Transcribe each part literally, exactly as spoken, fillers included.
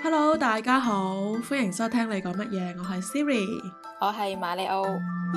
Hello，大家好，歡迎收聽你講乜嘢，我係 Siri， 我係馬里奧。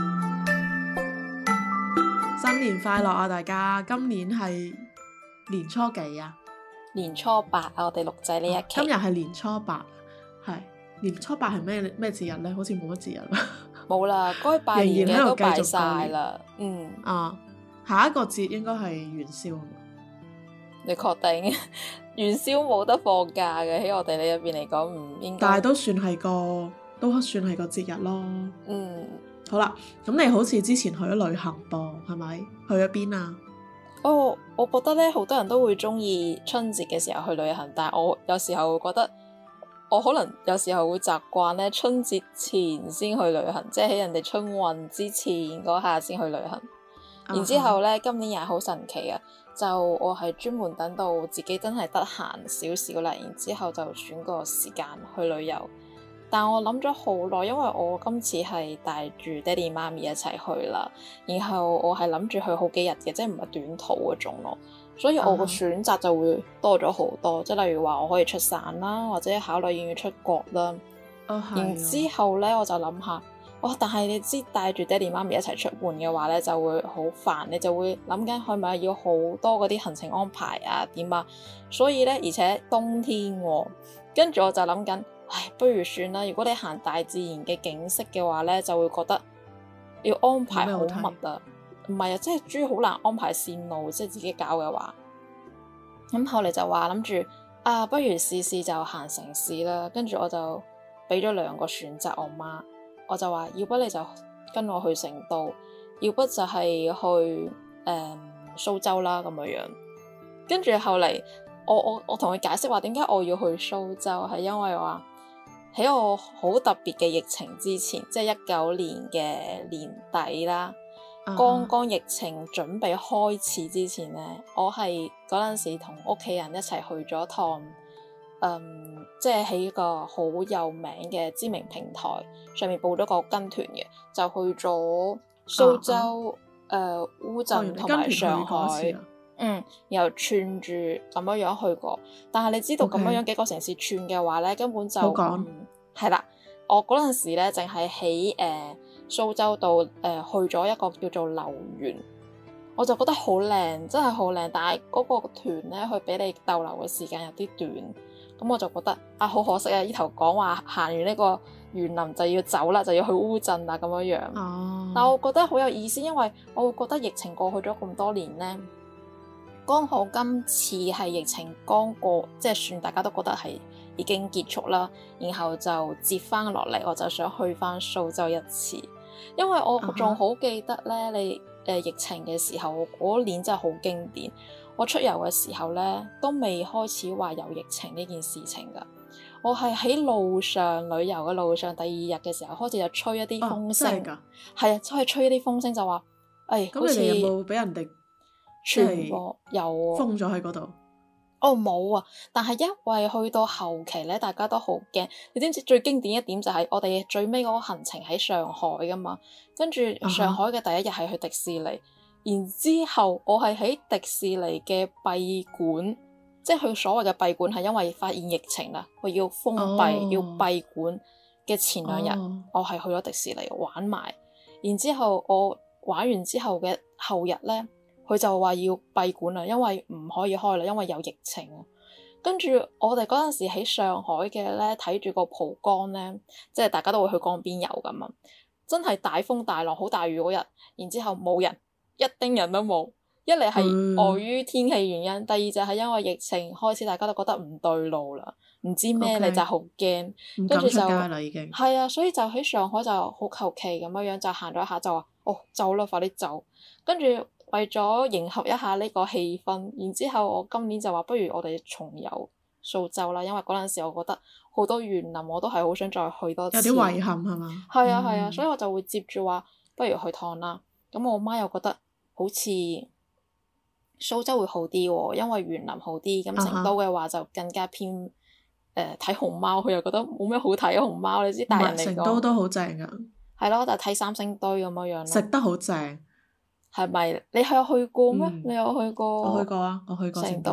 新年快樂啊！大家，今年係年初幾啊？ 年初八啊，我哋錄製呢一期。 今日係年初八，係年初八係咩咩節日呢？好似冇乜節日啦。 冇啦，該拜年嘅都拜晒啦。嗯。 啊，下一個節應該係元宵。 你確定？元宵冇得放假嘅，喺我哋呢入邊嚟講唔應該。 但係都算係個，都算係個節日咯。 嗯。 好啦，咁你好似之前去咗旅行噃，係咪？去咗邊啊？ 哦，我覺得咧，好多人都會中意春節嘅時候去旅行，但係我有時候會覺得，我可能有時候會習慣咧春節前先去旅行，即係喺人哋春運之前嗰下先去旅行。然之後咧，今年又係好神奇啊！就我係專門等到自己真係得閒少少啦，然之後就選個時間去旅遊。但我諗咗好耐，因為我今次係帶住爹哋媽咪一齊去啦，然後我係諗住去好幾日嘅，即係唔係短途嗰種咯，所以我個選擇就會多咗好多。即係、uh huh. 例如話我可以出省啦，或者考慮要唔要出國啦。Uh huh. 然之後咧，我就諗下。哇！但係你知帶住爹哋媽咪一齊出門嘅話咧，就會好煩，你就會諗緊係咪要好多嗰啲行程安排啊點啊，所以咧，而且冬天喎、啊，跟住我就諗緊，唉，不如算啦。如果你行大自然嘅景色嘅話咧，就會覺得要安排好密啊，唔係啊，即係主要好難安排線路，即係自己搞嘅話。咁後嚟就話諗住啊，不如試試就行城市啦。跟住我就俾咗兩個選擇我媽。我就話，要不你就跟我去成都，要不就係去誒、嗯、蘇州啦咁樣樣。跟住後嚟，我我我同佢解釋話點解我要去蘇州，係因為話喺我好特別嘅疫情之前，即係一九年嘅年底啦，剛剛、uh huh. 疫情準備開始之前呢，我係嗰陣時同屋企人一齊去咗趟。嗯，即係喺一個好有名嘅知名平台上面報咗個跟團嘅，就去咗蘇州、誒、啊啊呃、烏鎮同埋上海，嗯，然後串住咁樣樣去過。但係你知道咁樣樣幾個城市串嘅話咧，根本就係啦、嗯。我嗰陣時咧，淨係喺誒蘇州度誒、呃、去咗一個叫做留園，我就覺得好靚，真係好靚。但係嗰個團咧，佢俾你逗留嘅時間有啲短。咁我就覺得啊，好可惜啊！呢頭講話行完呢個園林就要走啦，就要去烏鎮啦咁樣樣。哦。但我覺得好有意思，因為我會覺得疫情過去咗咁多年呢，剛好今次係疫情剛過，即係算大家都覺得係已經結束啦，然後就接翻落嚟，我就想去翻蘇州一次，因為我仲好記得呢，你誒、呃、疫情嘅時候嗰年真係好經典。我出遊嘅時候咧，都未開始話有疫情呢件事情噶。我係喺路上旅遊嘅路上，第二日嘅時候開始就吹一啲風聲，係、哦、啊，即係吹一啲風聲就話，誒、哎， 咁你哋有冇俾人哋傳播？有封咗喺嗰度？ 哦，冇啊！但係因為去到後期咧，大家都好驚。你知唔知最經典一點就係我哋最尾嗰個行程喺上海噶嘛？跟住上海嘅第一日係去迪士尼。Uh huh. 然之後，我係喺迪士尼嘅閉館，即係佢所謂嘅閉館係因為發現疫情啦，佢要封閉、oh. 要閉館嘅前兩日，oh. 我係去咗迪士尼玩埋。然之後我玩完之後嘅後日呢，佢就話要閉館啦，因為唔可以開啦，因為有疫情啊。跟住我哋嗰陣時喺上海嘅呢，睇住個蒲江呢，即係大家都會去江邊遊噶嘛，真係大風大浪、好大雨嗰日，然之後冇人。一丁人都冇，一嚟係礙於天氣原因，嗯、第二就係因為疫情開始，大家都覺得唔對路啦，唔知咩你 Okay. 就好驚， 唔敢出街啦已經。 係啊，所以就喺上海就好求其咁樣樣就行咗一下就話哦走啦，快啲走。跟住為咗迎合一下呢個氣氛，然之後我今年就話不如我哋重遊蘇州啦，因為嗰陣時我覺得好多園林我都係好想再去多次。 有啲遺憾係嘛？ 係啊係啊，所以我就會接住話不如去趟啦。咁我媽又覺得。好似蘇州會好啲喎，因為園林好啲。咁成都嘅話就更加偏誒睇、呃、熊貓，佢又覺得冇咩好睇啊熊貓。你知大人嚟講， 成都都好正㗎。 係咯，但係睇三星堆咁樣樣咯。 食得好正， 係咪？你係有去過咩？嗯、你有去過？ 我去過啊，我去過成都。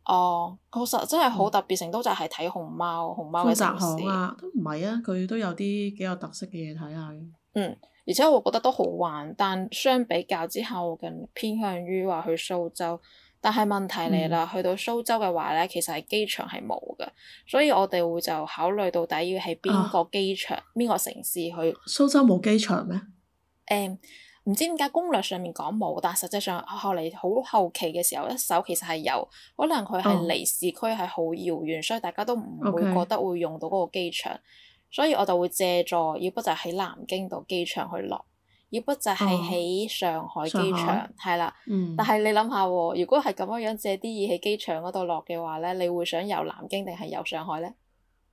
哦，確實真係好特別，成都就係睇熊貓，熊貓嘅富澤城市。 巷啊，都唔係啊，佢都有啲幾有特色嘅嘢睇下嘅。 嗯，而且我覺得都好玩，但相比較之下，我更偏向於話去蘇州。但係問題嚟啦， 嗯， 去到蘇州嘅話咧，其實係機場係冇嘅，所以我哋會就考慮到底要喺邊啊， 個機場、邊個城市去。誒、 蘇州冇機場咩？ 唔知點解攻略上面講冇，但實際上後嚟好後期嘅時候，一搜其實係有，可能佢係哦離市區係好遙遠，所以大家都唔會覺 ，OK， 得會用到嗰個機場，所以我就會借助，要不就喺南京度機場去落，要不就係哦， 喺上海上機場， 海， 係啦。但嗯， 係你諗下喎，如果係咁樣樣借啲嘢喺機場嗰度落嘅話咧，你會想遊南京定係遊上海咧？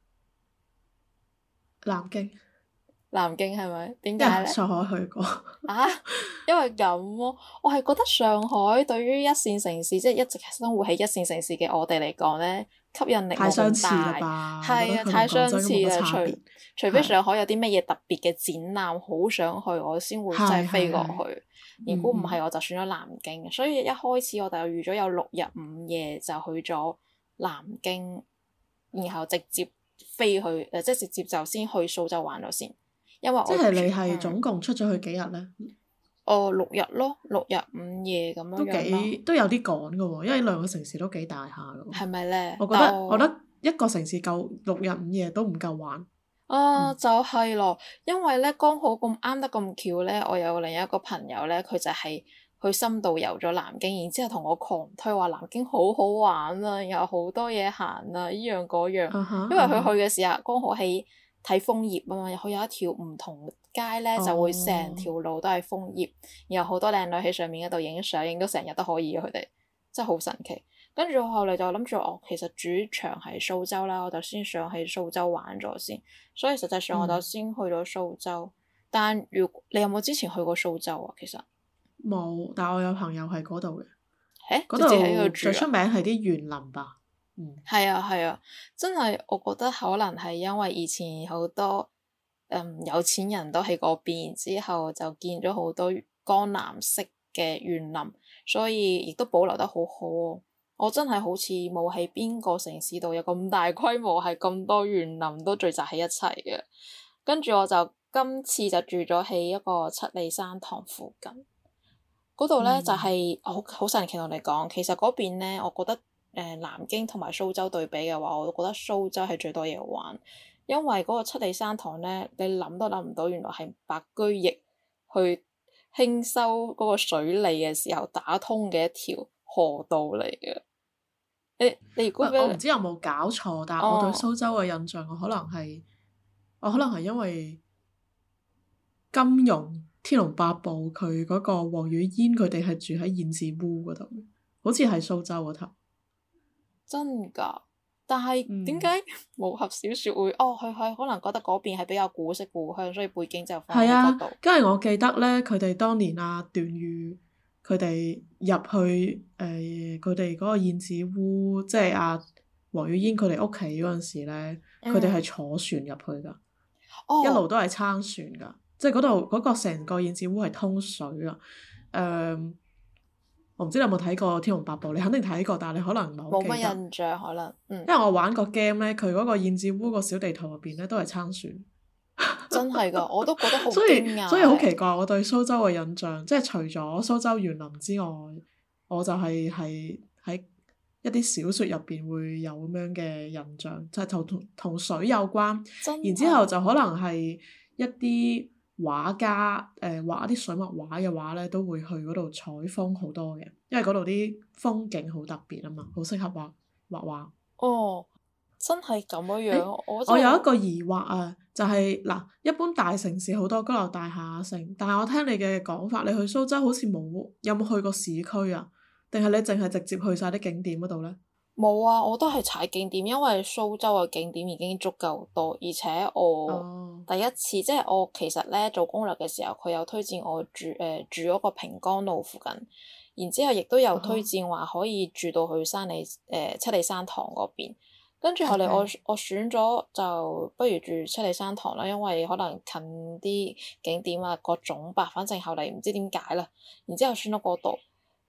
南京， 南京係咪？點因解咧？ 為上海去過。 啊，因為咁咯，我係覺得上海對於一線城市，即係一直生活喺一線城市嘅我哋嚟講咧，吸引力冇太相似啦咁大。 吧？我覺係啊， 得佢同太相廣州都冇乜似啦，除差別。 除非係上海有啲乜嘢特別嘅展覽，好想去，我先會真係係飛過係係， 去。如果唔係， 嗯嗯， 我就選咗南京。所以一開始我就預咗有六日五夜就去咗南京，然後直接飛去誒，即係直接就先去蘇州玩咗先。因為我住即係你係嗯。 總共出咗去幾日呢？ 哦，六日咯，六日五夜咁都樣樣咯， 幾都有啲趕㗎喎，因為兩個城市都幾大下㗎喎。 係咪咧？ 我覺得我覺但我得一個城市夠六日五夜都唔夠玩。 啊， 嗯， 就係咯，因為咧剛好咁啱得咁巧咧，我有另一個朋友咧，佢就係去深度遊咗南京，然之後同我狂推話南京好好玩啊，有好多嘢行啊，依樣嗰樣。 啊哈因為佢去啊哈， 嘅時候剛好喺睇楓葉啊嘛，佢有一條唔同街咧，就會成哦， 條路都係楓葉，然後好多靚女喺上面嗰度影相，影到成日都可以嘅佢哋，真係好神奇。跟住我後嚟就諗住，哦，其實主場係蘇州啦，我就先上去蘇州玩咗先。所以實際上我就嗯， 先去咗蘇州。但如你有冇之前去過蘇州啊？其實， 冇，但我有朋友喺嗰度嘅， 誒， 嗰直接喺度度最出住啊？ 名係啲園林吧。嗯， 係啊係啊，真係我覺得可能係因為以前好多嗯有錢人都喺嗰邊，之後就建咗好多江南式嘅園林，所以亦都保留得好好喎。我真係好似冇喺邊個城市度有咁大規模，係咁多園林都聚集喺一齊嘅。跟住我就今次就住咗喺一個七里山塘附近，嗰度咧就嗯， 係好好神奇同你講，其實嗰邊咧，我覺得誒、呃、南京同埋蘇州對比嘅話，我都覺得蘇州係最多嘢玩，因為嗰個七里山塘咧，你諗都諗唔到，原來係白居易去興修嗰個水利嘅時候打通嘅一條河道嚟嘅。你你如果喂， 俾我唔知有冇搞錯，但係我對哦蘇州嘅印象，我可能係我可能係因為金庸《天龍八部》佢嗰個黃雨嫣佢哋係住喺燕子烏嗰度，好似係蘇州嗰頭。 真㗎，但係點解嗯， 武俠小説會哦？佢佢可能覺得嗰邊係比較古色古香，所以背景就放係啊， 喺嗰度。 跟住我記得咧，佢哋當年啊段譽佢哋入去誒佢哋嗰個燕子烏，即係阿黃雨嫣佢哋屋企嗰陣時咧，佢哋係嗯， 坐船入去㗎。一路哦， 都係撐船噶，即係嗰度嗰個成個燕子烏係通水噶。誒、我唔知你有冇睇過《天龍八部》，你肯定睇過，但係你可能唔係好冇乜記得， 印象可能，嗯， 因為我玩個 game 咧，佢嗰個燕子烏個小地圖入邊咧都係撐船， 真係㗎，我都覺得好所以驚訝所以好奇誒。 怪，我對蘇州嘅印象，即係除咗蘇州園林之外，我就係係喺一啲小説入邊會有咁樣嘅印象，就係同同同水有關。 真然之後係， 就可能係一啲畫家誒、呃、畫一啲水墨畫嘅話咧，都會去嗰度採風好多嘅，因為嗰度啲風景好特別啊嘛，好適合畫畫畫。 哦，真係咁樣誒， 樣，我真我有一係個疑惑啊，就係、嗱，一般大城市好多高樓大廈城，但係我聽你嘅講法，你去蘇州好似冇，有冇去過市區啊？定係你淨係直接去晒啲景點嗰度呢？ 冇啊！我都係踩景點，因為蘇州嘅景點已經足夠多，而且我哦， 第一次即係我其實咧做攻略嘅時候，佢有推薦我住誒、呃、住嗰個平江路附近，然之後亦都有啊哈推薦話可以住到去山里誒、呃、七里山塘嗰邊。跟住後嚟我 ，OK， 我選咗就不如住七里山塘啦，因為可能近啲景點啊各種吧，反正後嚟唔知點解啦，然之後選咗嗰度。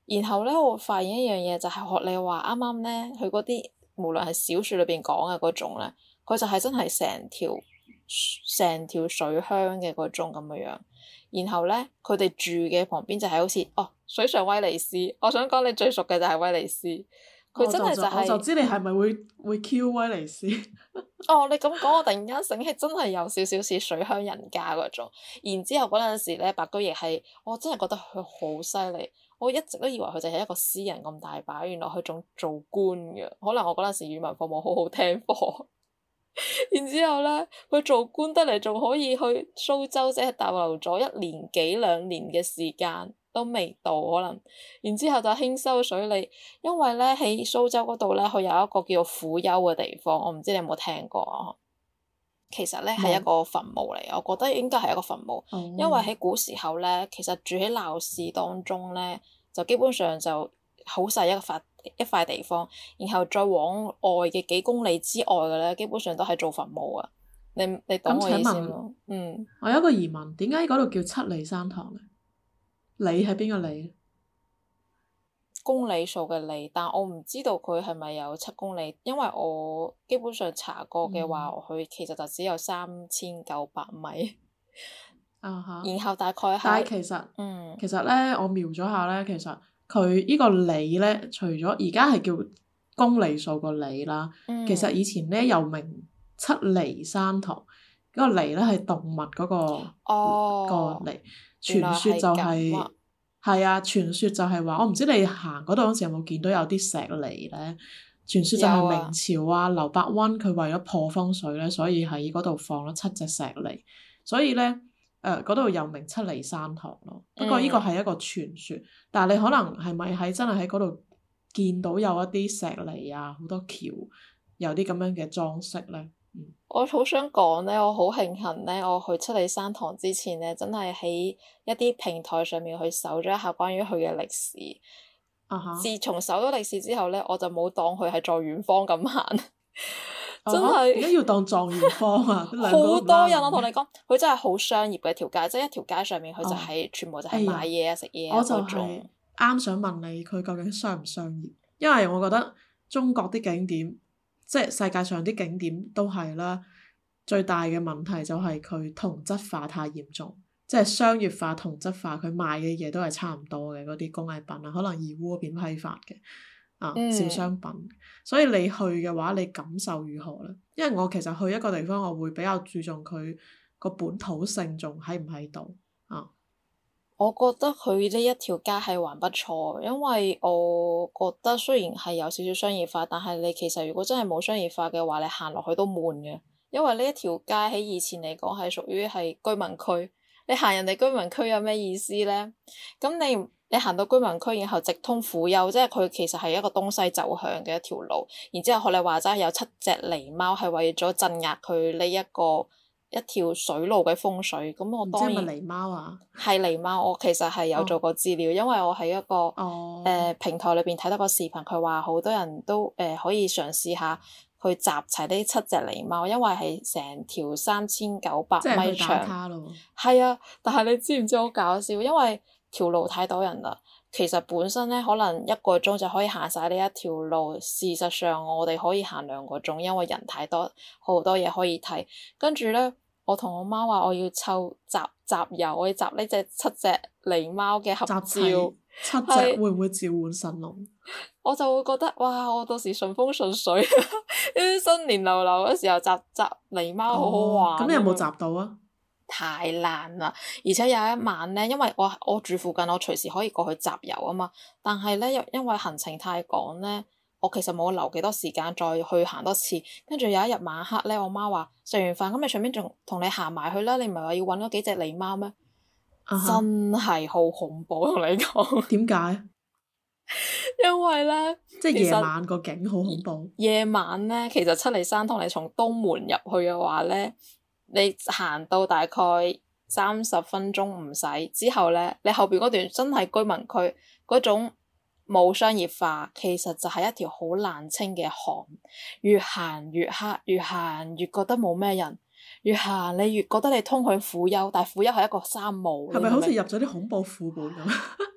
然後咧，我發現一樣嘢就係學你話啱啱咧，佢嗰啲無論係小説裏邊講嘅嗰種咧，佢就係真係成條成條水鄉嘅嗰種咁嘅樣。然後咧，佢哋住嘅旁邊就係好似哦水上威尼斯。我想講你最熟嘅就係威尼斯，佢真係就係、是、 我就知你係咪會會 Q 威尼斯？ 哦，你咁講，我突然間醒起，真係有少少似水鄉人家嗰種。然之後嗰陣時咧，白居易係我真係覺得佢好犀利。我一直都以為佢就係一個詩人咁大把，原來佢仲做官嘅。可能我嗰陣時語文課冇好好聽課。然之後咧，佢做官得嚟仲可以去蘇州，即係逗留咗一年幾兩年嘅時間都未到可能。然之後就興修水利，因為咧喺蘇州嗰度咧，佢有一個叫做虎丘嘅地方，我唔知你有冇聽過啊？其實咧係一個墳墓嚟，我覺得應該係一個墳墓， 嗯、 因為喺古時候咧，其實住喺鬧市當中咧，就基本上就好細一塊一塊地方，然後再往外嘅幾公里之外嘅咧，基本上都係做墳墓啊。你你懂我意思嗎？嗯， 我有一個疑問，點解嗰度叫七里山堂咧？里係邊個里？ 公里數嘅里，但我唔知道佢係咪有七公里，因為我基本上查過嘅話，佢、嗯、其實就只有三千九百米。 啊哈！ 然後大概係， 但係其實， 嗯， 其實咧，我瞄咗下咧，其實佢呢個里咧，除咗而家係叫公里數個里啦， 嗯、 其實以前咧又名七里山堂，嗰、嗰個里咧係動物嗰、嗰個、 哦、 個里，傳說就係、係。係啊，傳說就係話，我唔知你行嗰度嗰時有冇見到有啲石梨咧？傳說就係明朝啊，劉伯溫佢為咗破風水咧，所以喺嗰度放咗七隻石梨，所以咧誒嗰度又名七里山堂咯。不過呢個係一個傳說，嗯、但係你可能係咪喺真係喺嗰度見到有一啲石梨啊，好多橋有啲咁樣嘅裝飾咧？嗯、 我好想講咧，我好慶幸咧，我去七里山堂之前咧，真係喺一啲平台上面去搜咗一下關於佢嘅歷史。 啊哈！ 自從搜咗歷史之後咧，我就冇當佢係在遠方咁行。 啊、 真係點解要當狀元坊啊？ 好多人，我同你講，佢真係好商業嘅條街，即係一條街上面佢就係、是哦、全部就係買嘢啊、食嘢啊嗰種。 啱想問你，佢究竟商唔商業？因為我覺得中國啲景點。即係世界上啲景點都係啦，最大嘅問題就係佢同質化太嚴重，即係商業化同質化，佢賣嘅嘢都係差唔多嘅嗰啲工藝品啊，可能義烏嗰邊批發嘅啊、嗯、小商品，所以你去嘅話，你感受如何咧？因為我其實去一個地方，我會比較注重佢個本土性仲喺唔喺度啊。 我覺得佢呢一條街係還不錯，因為我覺得雖然係有少少商業化，但係你其實如果真係冇商業化嘅話，你行落去都悶嘅。因為呢一條街喺以前嚟講係屬於係居民區，你行人哋居民區有咩意思呢？咁你你行到居民區，然後直通虎丘，即係佢其實係一個東西走向嘅一條路。然之後學你話齋有七隻狸貓係為咗鎮壓佢呢一個一條水路嘅風水，咁我當然即係咪狸貓啊？ 係狸貓，我其實係有做過資料，哦、因為我喺一個誒、 哦呃、平台裏邊睇到個視頻，佢話好多人都誒、呃、可以嘗試下去集齊呢七隻狸貓，因為係成條三千九百米長。係啊，但係你知唔知好搞笑？因為條路太多人啦。其實本身咧，可能一個鐘就可以行晒呢一條路。事實上，我哋可以行兩個鐘，因為人太多，好多嘢可以睇。跟住咧，我同我媽話我要湊集集郵，我要集呢隻七隻狸貓嘅合照。 七隻會唔會召喚神龍？ 我就會覺得哇！我到時順風順水，呢啲新年流流嗰時候集集狸貓好好玩。 咁、哦、你有冇集到啊？ 太難啦！而且有一晚咧，因為我我住附近，我隨時可以過去集郵啊嘛。但係咧，因因為行程太趕咧，我其實冇留幾多時間再去行多次。跟住有一日晚黑咧，我媽話食完飯咁，你順便仲同你行埋去啦。你唔係話要揾嗰幾隻狸貓咩？Uh huh. 真係好恐怖，同你講。 點解？ 因為咧， 即係夜晚個景好恐怖。 夜晚咧，其實七里山堂你從東門入去嘅話咧。你行到大概三十分鐘唔使之後咧，你後邊嗰段真係居民區嗰種冇商業化，其實就係一條好難清嘅巷，越行越黑，越行越覺得冇咩人，越行你越覺得你通向虎丘，但係虎丘係一個沙漠。 係咪好似入咗啲恐怖副本咁？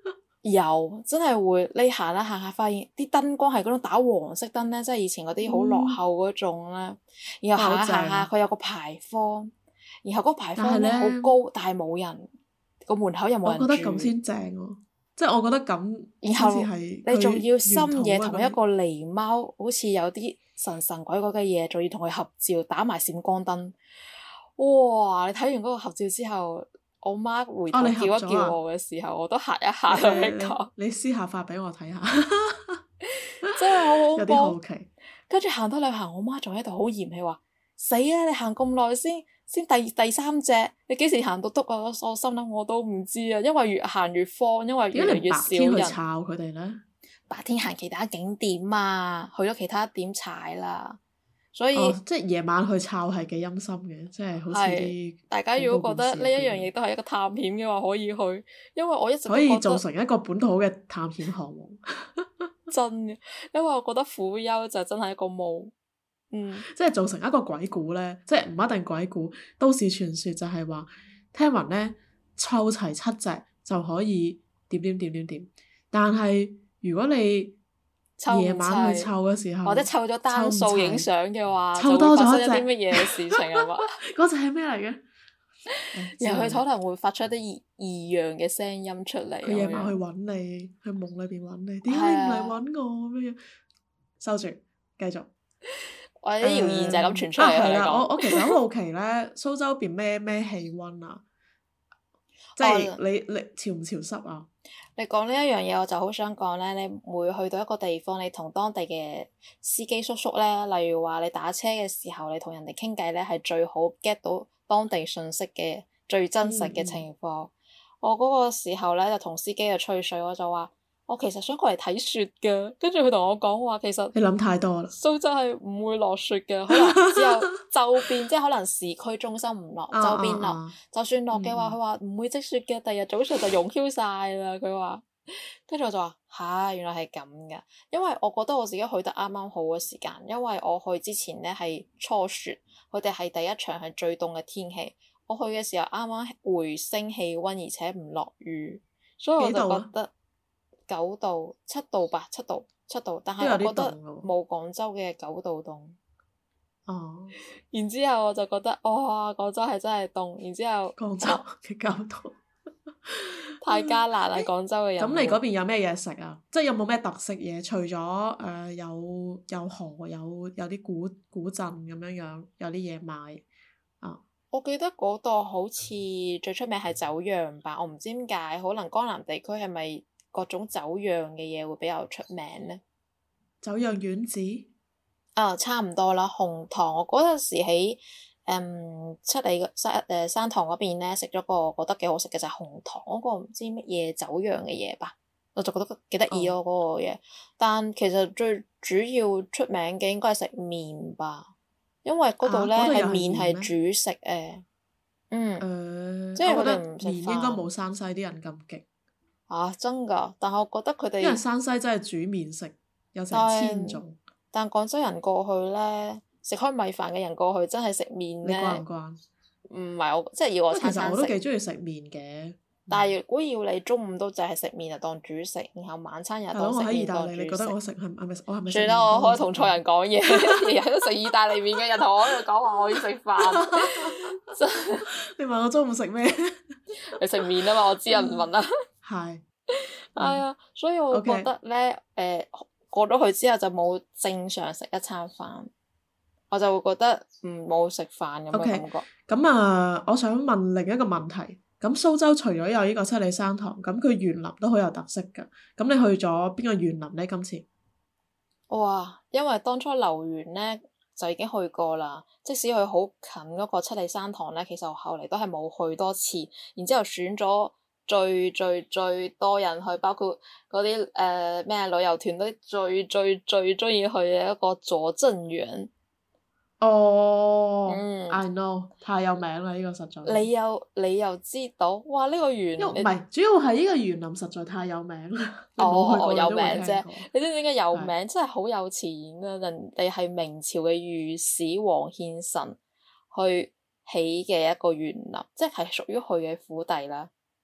有真係會，你行下行下，發現啲燈光係嗰種打黃色燈咧，即係以前嗰啲好落後嗰種咧。嗯、然後行下行下，佢有個牌坊，然後嗰個牌坊咧好高，但係冇人，個門口又冇人住。 我覺得咁先正喎，即係我覺得咁。然後你仲要深夜同一個狸貓，好似有啲神神鬼鬼嘅嘢，仲要同佢合照，打埋閃光燈。哇！你睇完嗰個合照之後，我媽回頭叫一叫我嘅時候，哦、我都嚇一嚇佢講。 你私下發俾我睇下， 真係好恐怖。 有啲好奇。 跟住行多兩行，我媽仲喺度好嫌棄話：死啦！你行咁耐先先第第三隻，你幾時行到篤啊？我我心諗我都唔知啊，因為越行越荒，因為越嚟越少人。 白天去抄佢哋咧？ 白天行其他景點啊，去咗其他點踩啦。所以、 哦、即係夜晚去抄係幾陰森嘅，即係好似啲。 大家如果覺得呢一樣嘢都係一個探險嘅話，可以去，因為我一直都可以做成一個本土嘅探險項目。 真嘅，因為我覺得苦丘就真係一個墓，嗯， 即係做成一個鬼故咧，即係唔一定鬼故，都市傳說就係話，聽聞咧湊齊七隻就可以點點點點點，但係如果你夜晚去湊嘅時候， 或者湊咗單數影相嘅話， 湊多咗一啲乜嘢事情啊嘛？ 嗰隻係咩嚟嘅？ 然後佢可能會發出一啲異異樣嘅聲音出嚟。 佢夜晚去揾你，去夢裏邊揾你，點解你唔嚟揾我咁樣？收住，繼續。 或者啲謠言就係咁傳出嚟。 係啦，我我其實好好奇咧，蘇州邊咩咩氣温啊？即係你你潮唔潮濕啊？ 你講呢一樣嘢，我就好想講咧。你每去到一個地方，你同當地嘅司機叔叔咧，例如話你打車嘅時候，你同人哋傾偈咧，係最好 get 到當地信息嘅最真實嘅情況。嗯、我嗰個時候咧就同司機就吹水，我就話我其實想過嚟睇雪㗎，跟住佢同我講話其實你諗太多啦。 蘇州係唔會落雪嘅，可能只有周邊，即係可能市區中心唔落，周邊落。啊啊啊就算落嘅話，佢話唔會積雪嘅，第二日早上就融飄晒啦。佢話，跟住我就話吓，原來係咁㗎。因為我覺得我自己去得啱啱好嘅時間，因為我去之前咧係初雪，佢哋係第一場係最凍嘅天氣。我去嘅時候啱啱回升氣温，而且唔落雨，所以我就覺得九度、七度吧，七度、七度。但係我覺得冇廣州嘅九度凍。 哦。 然之後我就覺得哇，廣州係真係凍。然之後廣州嘅九度太艱難啦！廣州嘅人。 咁你嗰邊有咩嘢食啊？即係有冇咩特色嘢？除咗誒、呃、有有河有有啲古古鎮咁樣樣，有啲嘢賣啊。 我記得嗰度好似最出名係酒釀吧，我唔知點解，可能江南地區係咪各種酒釀嘅嘢會比較出名呢？ 酒釀丸子？ 啊、哦，差唔多啦。紅糖，我嗰陣時喺誒、嗯、七里山誒山塘嗰邊咧食咗個覺得幾好食嘅就係、是、紅糖嗰、那個唔知乜嘢酒釀嘅嘢吧，我就覺得幾得意咯嗰個嘢。但其實最主要出名嘅應該係食麵吧。因為嗰度咧係麵係主食誒，嗯， 呃、 即係佢哋唔食飯。麵應該冇山西啲人咁勁。 啊，真㗎！但係我覺得佢哋因為山西真係煮麵食，有成千種。 但廣州人過去咧，食開米飯嘅人過去真係食麵咧。 你慣唔慣？ 唔係我，即係要我餐餐食。 其實我都幾中意食麵嘅。 但係如果要你中午都淨係食麵就當主食，然後晚餐又當食麵當主食。 你覺得我食係係咪？我係咪？ 算啦，我可以同錯人講嘢，日日都食意大利麵嘅人同我喺度講話我要食飯。 你問我中午食咩？ 你食麵啊嘛，我知人問啦。 係。 係啊，所以我覺得咧，誒、okay. 呃、過咗去之後就冇正常食一餐飯，我就會覺得唔冇食飯咁嘅感覺。 咁啊，我想問另一個問題。咁蘇州除咗有呢個七里山塘，咁佢園林都好有特色㗎。咁你去咗邊個園林呢？今次？ 哇！因為當初留園呢，就已經去過啦。即使佢好近嗰個七里山塘呢，其實我後嚟都係冇去多次。然之後選咗最最最多人去，包括嗰啲誒咩旅遊團都最最最中意去嘅一個拙政園。 哦、oh, 嗯、 I know， 太有名啦！呢、這個實在。 你又你又知道？哇！呢、這個園唔係你主要係呢個園林實在太有名啦。 哦，有名啫！你知唔知點解有名？ 是真係好有錢啊！人哋係明朝嘅御史王獻臣去起嘅一個園林，即係屬於佢嘅府邸啦。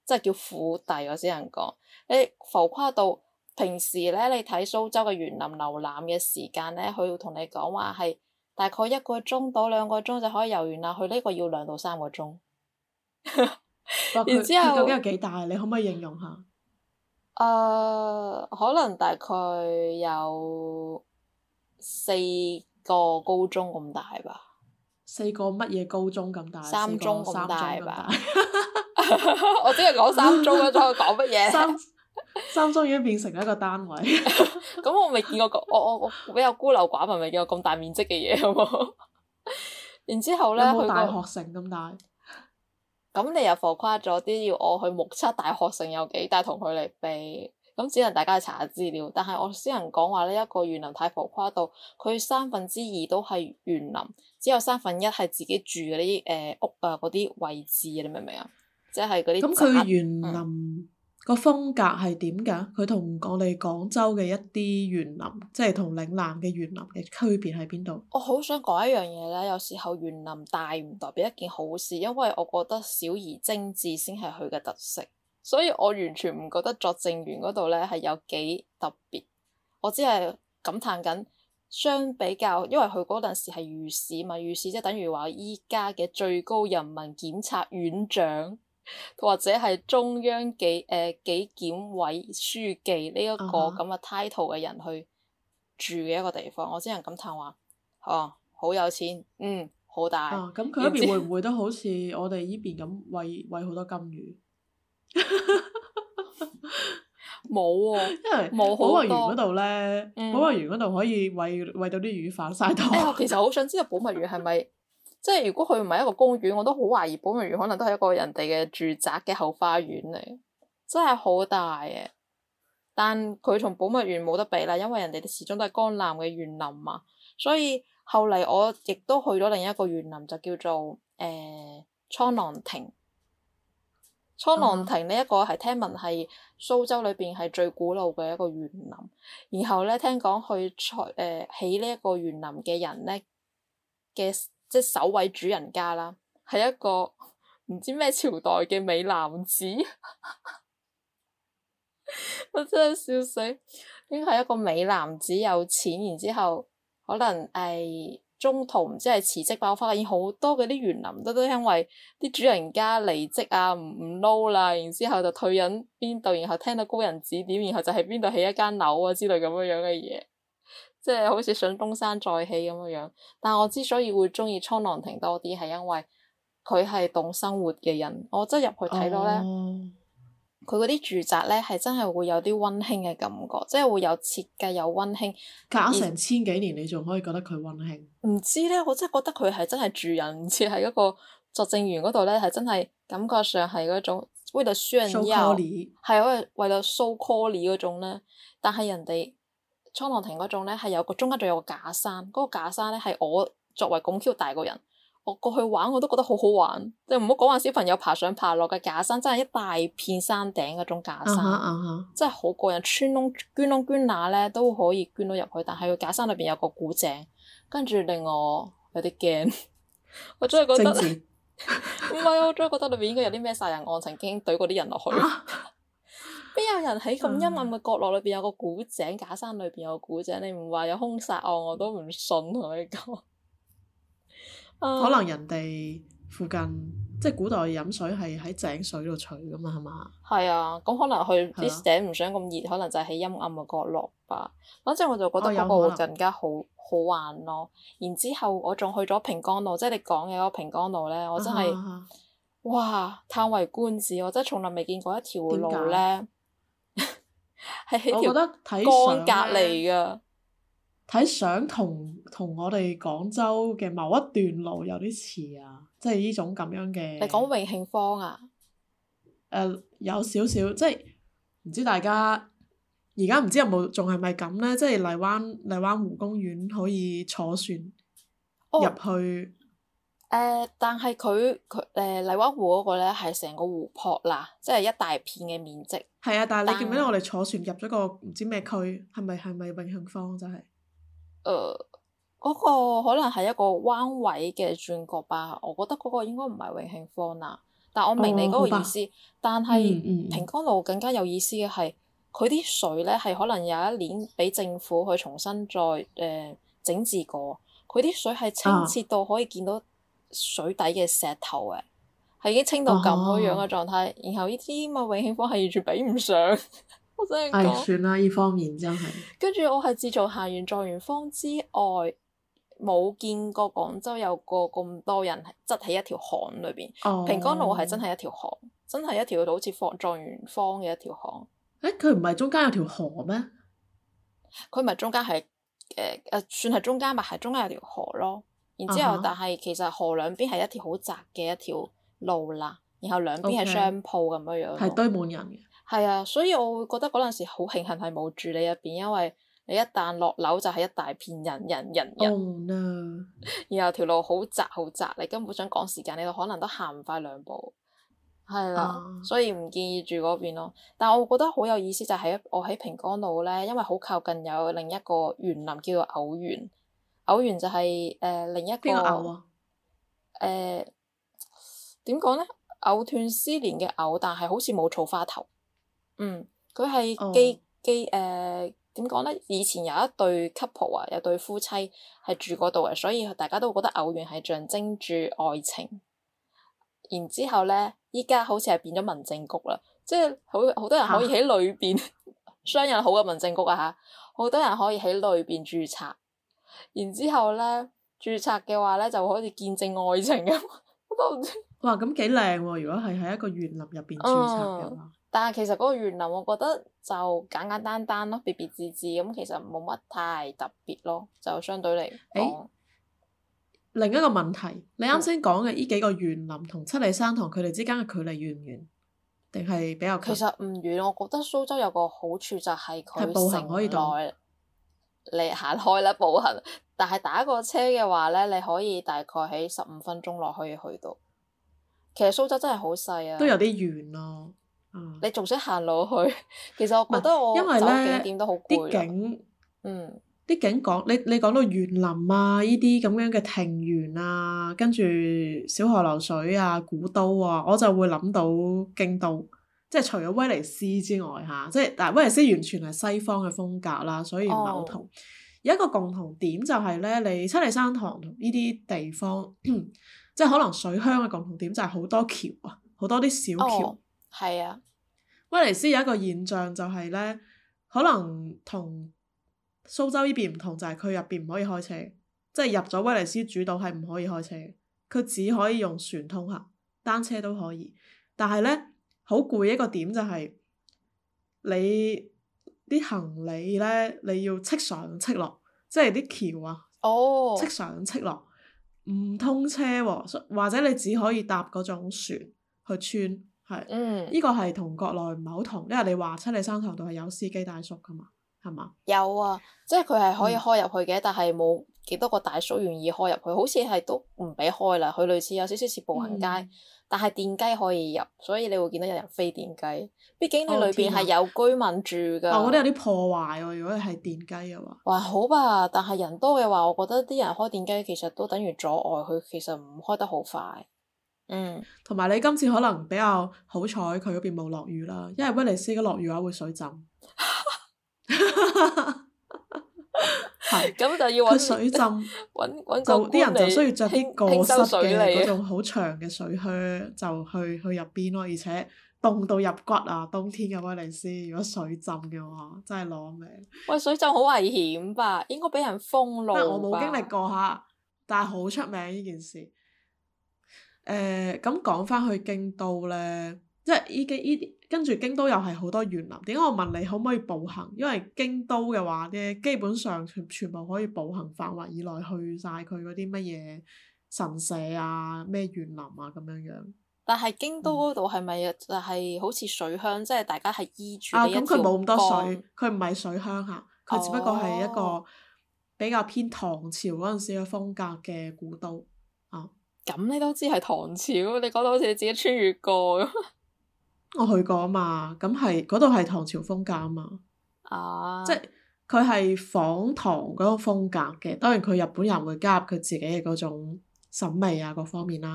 即係叫府邸，我先能講。你浮誇到平時咧，你睇蘇州嘅園林遊覽嘅時間咧，佢會同你講話係大概一個鐘到兩個鐘就可以遊完啦，佢呢個要兩到三個鐘。 哇！佢然之後佢究竟有幾大？你可唔可以形容下？ 誒、呃，可能大概有四個高中咁大吧。 四個乜嘢高中咁大？ 三中咁大大吧。我只係講三中嗰種，講乜嘢？ 三三中已經變成一個單位。 咁我未見過，我我我比較孤陋寡聞，未見過咁大面積嘅嘢，好冇？然之後咧， 有冇大佢個學城咁大？ 咁你又浮誇咗啲，要我去目測大學城有幾大同佢嚟比，咁只能大家去查下資料。但係我先能講話呢一個園林太浮誇到，佢三分之二都係園林，只有三分一係自己住嗰啲誒屋啊嗰啲位置啊，你明唔明啊？即係嗰啲咁佢園嗯林個風格係點㗎？佢同我哋廣州嘅一啲園林，即係同嶺南嘅園林嘅區別喺邊度？ 我好想講一樣嘢咧，有時候園林大唔代表一件好事，因為我覺得小而精緻先係佢嘅特色，所以我完全唔覺得作證園嗰度咧係有幾特別。我只係感嘆緊，相比較，因為佢嗰陣時係御史嘛，御史即係等於話依家嘅最高人民檢察院長。或者係中央紀誒、呃、紀檢委書記呢一個咁嘅 title 嘅人去住嘅一個地方，我只能感嘆話，哦，好有錢，嗯，好大。 啊，咁佢一邊會唔會都好似我哋依邊咁餵餵好多金魚？ 冇喎、啊， 因為冇保好多。 育園嗰度咧， 嗯、 保育園嗰度可以餵餵到啲魚販晒檔。 哎，我其實好想知道保育園係咪？即係如果佢唔係一個公園，我都好懷疑保育園可能都係一個人哋嘅住宅嘅後花園嚟，真係好大嘅。但佢同保育園冇得比啦，因為人哋始終都係江南嘅園林嘛。所以後嚟我亦都去咗另一個園林，就叫做誒蒼狼亭。蒼狼亭呢一個係聽聞係蘇州裏邊係最古老嘅一個園林。然後咧，聽講去採誒起呢一個園林嘅人咧嘅。即係首位主人家啦，係一個唔知咩朝代嘅美男子，我真係笑死。應該係一個美男子有錢，然之後可能誒、哎、中途唔知係辭職爆發，已經好多嗰啲園林都都因為啲主人家離職啊，唔唔撈啦，然之後就退隱邊度，然後聽到高人指點，然後就喺邊度起一間樓啊之類咁樣樣嘅嘢。即係好似想東山再起咁樣樣，但係我之所以會中意蒼狼亭多啲，係因為佢係懂生活嘅人。我真係入去睇到咧，佢嗰啲住宅咧係真係會有啲溫馨嘅感覺，即係會有設計有溫馨。 隔咗成千幾年，你仲可以覺得佢溫馨？ 唔知咧，我真係覺得佢係真係住人，唔似係嗰個作證園嗰度咧，係真係感覺上係嗰種為了炫耀，係為為了 so call 嗰種咧，但係人哋。蒼狼亭嗰種咧係有個中間仲有個假山，嗰、那個假山咧係我作為咁 Q 大個人，我過去玩我都覺得好好玩，即係唔好講話小朋友爬上爬落嘅假山，真係一大片山頂嗰種假山，uh huh, uh huh. 真係好過癮，穿窿捐窿捐罅咧都可以捐到入去，但係個假山裏邊有個古井，跟住令我有啲驚，我真係覺得唔係，我真係覺得裏邊應該有啲咩殺人案，曾經懟過啲人落去。邊有人喺咁陰暗嘅角落裏邊有個古井，假山裏邊有個古井？你唔話有兇殺案我都唔信，同你講。 可能人哋附近即係古代飲水係喺井水度取噶嘛，係嘛？ 係啊，咁可能佢啲井唔想咁熱，可能就係喺陰暗嘅角落吧。反正我就覺得嗰個會更加好好玩咯。然之後我仲去咗平江路，即係你講嘅嗰個平江路咧，我真係、啊、哇嘆為觀止，我真係從來未見過一條路咧。係喺條江隔離噶， 睇相同同我哋廣州嘅某一段路有啲似啊，即係呢種咁樣嘅。 你講永慶坊啊？ 誒、呃，有少少，即係唔知大家而家唔知有冇仲係咪咁咧？即係荔灣荔灣湖公園可以坐船入去。 誒、呃，但係佢佢誒荔灣湖嗰個咧係成個湖泊啦，即係一大片嘅面積。 係啊，但係你記唔記得我哋坐船入咗個唔知咩區？係咪係咪永慶坊真係？誒、 呃，嗰、嗰個可能係一個彎位嘅轉角吧。我覺得嗰個應該唔係永慶坊啦。 但我明你嗰個意哦思，但係嗯嗯平江路更加有意思嘅係，佢啲水咧係可能有一年俾政府去重新再誒、呃、整治過，佢啲水係清澈到可以見到水底嘅石頭嘅，係已經清到咁樣嘅狀態。然後呢啲咁嘅永慶坊係完全比唔上，我真係唉， 講。 算啦，呢方面真係。 跟住我係自從行完狀元坊之外，冇見過廣州有個咁多人係擠喺一條巷裏邊。 哦。 平江路係真係一條巷，真係一條好似放狀元坊嘅一條巷。 誒，佢唔係中間有條河咩？ 佢唔係中間係誒誒，算係中間吧，係中間有條河咯。然之後， 啊哈但係其實河兩邊係一條好窄嘅一條路啦，然後兩邊係商鋪咁樣樣。 係堆滿人嘅。 係啊，所以我會覺得嗰陣時好慶幸係冇住你入邊，因為你一旦落樓就係一大片人人人人。 Oh no！ 然後條路好窄好窄，你根本想趕時間，你都可能都行唔快兩步。係啦，啊、所以唔建議住嗰邊咯。但係我覺得好有意思就係我喺平江路咧，因為好靠近有另一個園林叫做藕園。藕園就係、是、誒、呃、另一個邊個藕啊？誒點講咧？藕斷絲連嘅藕，但係好似冇草花頭。嗯，佢係基基誒點講咧？以前有一對 couple 啊，有對夫妻係住嗰度嘅，所以大家都覺得藕園係象徵住愛情。然之後咧，依家好似係變咗民政局啦，即係好好多人可以喺裏邊商人好嘅民政局啊嚇，好多人可以喺裏邊註冊。然之後咧，註冊嘅話咧，就可以見證愛情咁。我都唔知。哇， 咁幾靚喎！如果係喺一個園林入邊註冊嘅話。 嗯，但係其實嗰個園林，我覺得就簡簡單單咯，別別緻緻咁，其實冇乜太特別咯，就相對嚟講。欸， 另一個問題，你啱先講嘅呢幾個園林同七里山堂佢哋之間嘅距離遠唔遠？定係比較近？ 其實唔遠，我覺得蘇州有個好處就係佢步行可以到。 你行開啦，步行。但係打個車嘅話咧，你可以大概喺十五分鐘內可以去到。其實蘇州真係好細啊， 都有啲遠咯。嗯， 你仲識行路去？其實我覺得我走景點都好攰啦。啲景， 嗯，啲景講你你講到園林啊，呢啲咁樣嘅庭園啊，跟住小河流水啊，古都啊，我就會諗到京都。即係除咗威尼斯之外嚇，即係但係威尼斯完全係西方嘅風格啦，所以唔係好同。Oh. 有一個共同點就係咧，你七里山堂同呢啲地方，即係可能水鄉嘅共同點就係好多橋啊，好多啲小橋。 係啊、oh. 威尼斯有一個現象就係咧，可能同蘇州呢邊唔同，就係佢入邊唔可以開車，即係入咗威尼斯主島係唔可以開車，佢只可以用船通行，單車都可以，但係咧。好攰一個點就係你啲行李咧，你要戚上戚落，即係啲橋啊，戚、oh. 上戚落，唔通車喎、啊，或者你只可以搭嗰種船去穿，係，呢、mm. 個係同國內唔係好同，因為你話七里山堂度係有司機大叔噶嘛，係嘛？有啊，即係佢係可以開入去嘅，嗯、但係冇幾多個大叔願意開入去，好似係都唔俾開啦，佢類似有少少似步行街。嗯，但係電雞可以入，所以你會見到有人飛電雞。畢竟你裏邊係有居民住㗎。哦，我覺得有啲破壞喎，如果係電雞嘅話。還好吧，但係人多嘅話，我覺得啲人開電雞其實都等於阻礙佢，其實唔開得好快。嗯。同埋你今次可能比較好彩，佢嗰邊冇落雨啦，因為威尼斯嘅落雨嘅話會水浸。係，咁就要揾水浸，揾揾就啲人就需要着啲過膝嘅嗰種好長嘅水靴，就去去入邊咯。而且凍到入骨啊！冬天嘅威尼斯，如果水浸嘅話，真係攞命。喂，水浸好危險吧？應該俾人封路吧？我冇經歷過嚇，但係好出名呢件事。誒、呃，咁講翻去京都咧。即係依啲依啲，跟住京都又係好多園林。點解我問你可唔可以步行？因為京都嘅話咧，基本上全全部可以步行範圍以內去晒佢嗰啲乜嘢神社啊、咩園林啊咁樣樣。但係京都嗰度係咪就係好似水鄉？嗯、即係大家係依住呢一條江。啊，咁佢冇咁多水，佢唔係水鄉嚇，佢只不過係一個比較偏唐朝嗰陣時嘅風格嘅古都啊。咁你都知係唐朝？你講到好似你自己穿越過咁。我去過啊嘛，咁係嗰度係唐朝風格啊嘛，啊即係佢係仿唐嗰個風格嘅。當然佢日本人會加入佢自己嘅嗰種審美啊各方面啦。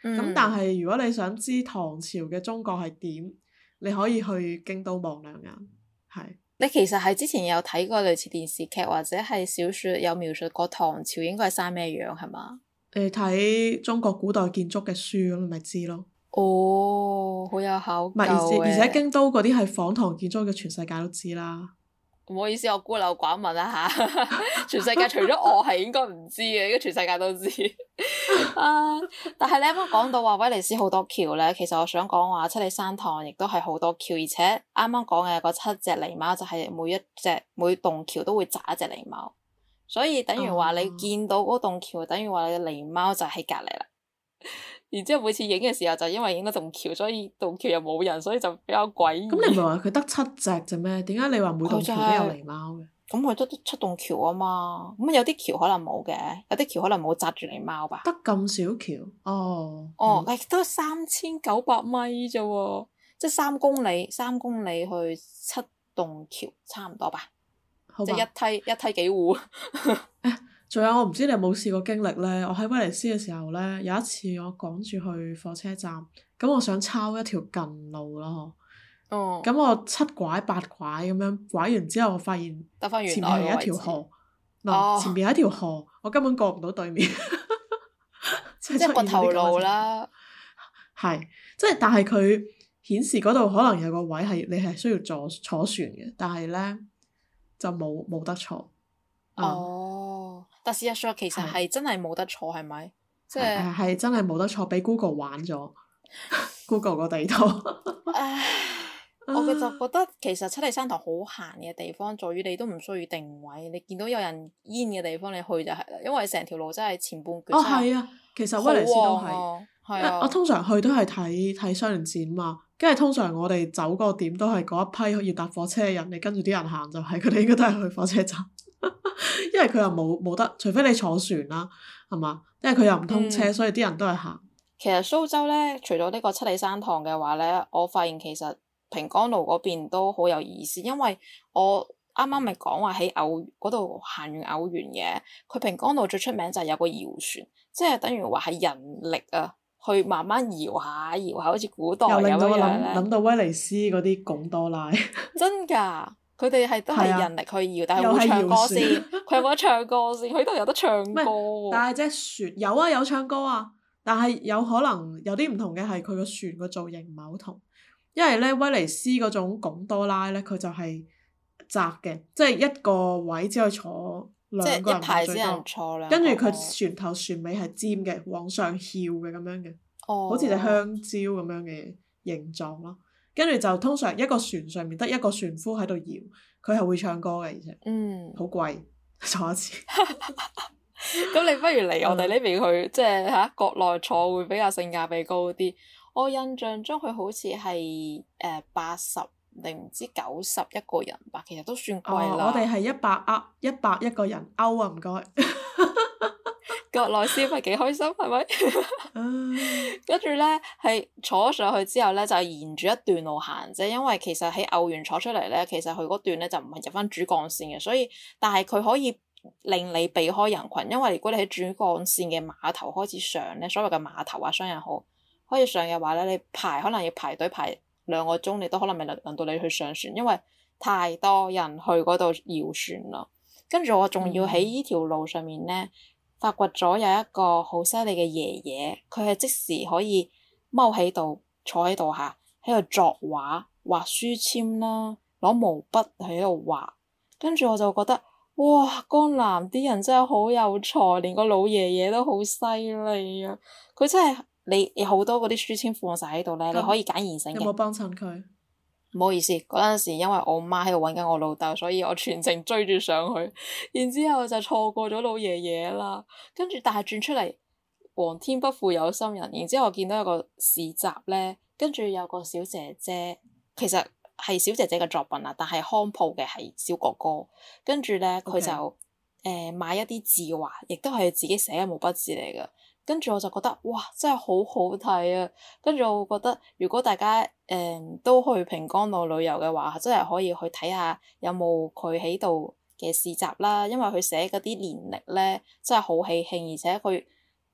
嗯但係如果你想知唐朝嘅中國係點，你可以去京都望兩眼，係。 你其實係之前有睇過類似電視劇或者係小説有描述過唐朝應該係生咩樣係嘛？ 你睇中國古代建築嘅書咁，你咪知咯。 哦，好有考究唔係，而且嘅。 而且京都嗰啲係仿唐建築嘅，全世界都知啦。 唔好意思，我孤陋寡聞啦嚇，全世界除咗我係應該唔知嘅，應該全世界都知。啊！但係你啱啱講到話威尼斯好多橋咧，其實我想講話七里山塘亦都係好多橋，而且啱啱講嘅嗰七隻狸貓就係每一隻每棟橋都會紮一隻狸貓，所以等於話你見到嗰棟橋，等於話你嘅狸貓就喺隔離啦。然之後每次影嘅時候就因為影到棟橋，所以棟橋又冇人，所以就比較詭異。 咁你唔係話佢得七隻啫咩？點解你話每棟橋都有狸貓嘅？ 咁佢都七棟橋啊嘛，咁有啲橋可能冇嘅，有啲橋可能冇紮住狸貓吧。 得咁少橋？哦。 哦， 嗯、 誒都三千九百米啫喎，即係三公里，三公里去七棟橋，差唔多吧。 好吧。 即係一梯一梯幾戶。 仲有我唔知你有冇試過經歷呢？我喺威尼斯嘅時候呢，有一次我趕住去火車站，咁我想抄一條近路咯。 哦。 咁我七拐八拐咁樣拐完之後，我發現得返原前來面係一條河，嗱、 哦、 前面係一條河，我根本過唔到對面。 即係個頭路啦。 係，即係但係佢顯示嗰度可能有個位係你係需要坐坐船嘅，但係呢，就冇冇得坐。 哦，但事實上其實係真係冇得坐，係咪？即係係真係冇得坐，俾 Google 玩咗。Google 個地圖。 唉，我嘅就覺得其實七里山塘好閒嘅地方，在於你都唔需要定位，你見到有人煙嘅地方你去就係啦，因為成條路真係前半段。 哦，係啊，其實威尼斯都係。 係啊。 我通常去都係睇睇雙年展嘛，跟住通常我哋走個點都係嗰一批要搭火車嘅人，你跟住啲人行就係，佢哋應該都係去火車站。因為佢又冇冇得，除非你坐船啦，係嘛？因為佢又唔通車，嗯、所以啲人都係行。 其實蘇州咧，除咗呢個七里山塘嘅話咧，我發現其實平江路嗰邊都好有意思，因為我啱啱咪講話喺偶嗰度行完偶園嘅，佢平江路最出名就係有個搖船，即係等於話係人力啊，去慢慢搖下搖下，好似古代咁樣咧。又令到我諗諗到威尼斯嗰啲貢多拉。真㗎。佢哋係都係人力去搖，啊、但係會唱歌先。佢有冇得唱歌先？佢呢度有得唱歌。 但係隻船有啊，有唱歌啊。但係有可能有啲唔同嘅係佢個船個造型唔係好同，因為咧威尼斯嗰種貢多拉咧，佢就係窄嘅，即係一個位只可以坐兩個人最多。跟住佢船頭船尾係尖嘅，往上翹嘅咁樣嘅， 哦、 好似隻香蕉咁樣嘅形狀咯。跟住就通常一個船上面得一個船夫喺度搖，佢係會唱歌嘅，而且嗯好貴坐一次。 咁你不如嚟我哋呢邊去，嗯、即係嚇國內坐會比較性價比高啲。我印象中佢好似係誒八十定唔知九十一個人吧，其實都算貴啦。 哦、我哋係一百歐，一百一個人歐啊，唔該。 國內消費幾開心係咪？跟住咧係坐咗上去之後咧，就沿住一段路行啫。因為其實喺偶園坐出嚟咧，其實佢嗰段咧就唔係入翻主幹線嘅，所以但係佢可以令你避開人群。因為如果你喺主幹線嘅碼頭開始上咧，所謂嘅碼頭啊商人號開始上嘅話咧，你排可能要排隊排兩個鐘，你都可能未輪輪到你去上船，因為太多人去嗰度搖船啦。跟住我仲要喺呢條路上面咧。發掘咗有一個好犀利嘅爺爺，佢係即時可以踎喺度坐喺度下，喺度作畫畫書籤啦，攞毛筆喺度畫。跟住我就覺得，哇！江南啲人真係好有才，連個老爺爺都好犀利啊！佢真係你有好多嗰啲書籤放晒喺度咧，嗯、你可以揀現成嘅。 有冇幫襯佢？ 唔好意思，嗰陣時因為我媽喺度揾緊我老豆，所以我全程追住上去，然之後就錯過咗老爺爺啦。跟住但係轉出嚟，皇天不負有心人。然之後我見到有個市集咧，跟住有個小姐姐，其實係小姐姐嘅作品啦，但係康鋪嘅係小哥哥。跟住咧佢就誒 Okay. 買一啲字畫，亦都係自己寫嘅毛筆字嚟嘅。跟住我就覺得哇，真係好好睇啊！跟住我覺得，如果大家誒、嗯、都去平江路旅遊嘅話，真係可以去睇下有冇佢喺度嘅市集啦。因為佢寫嗰啲年曆咧，真係好喜慶，而且佢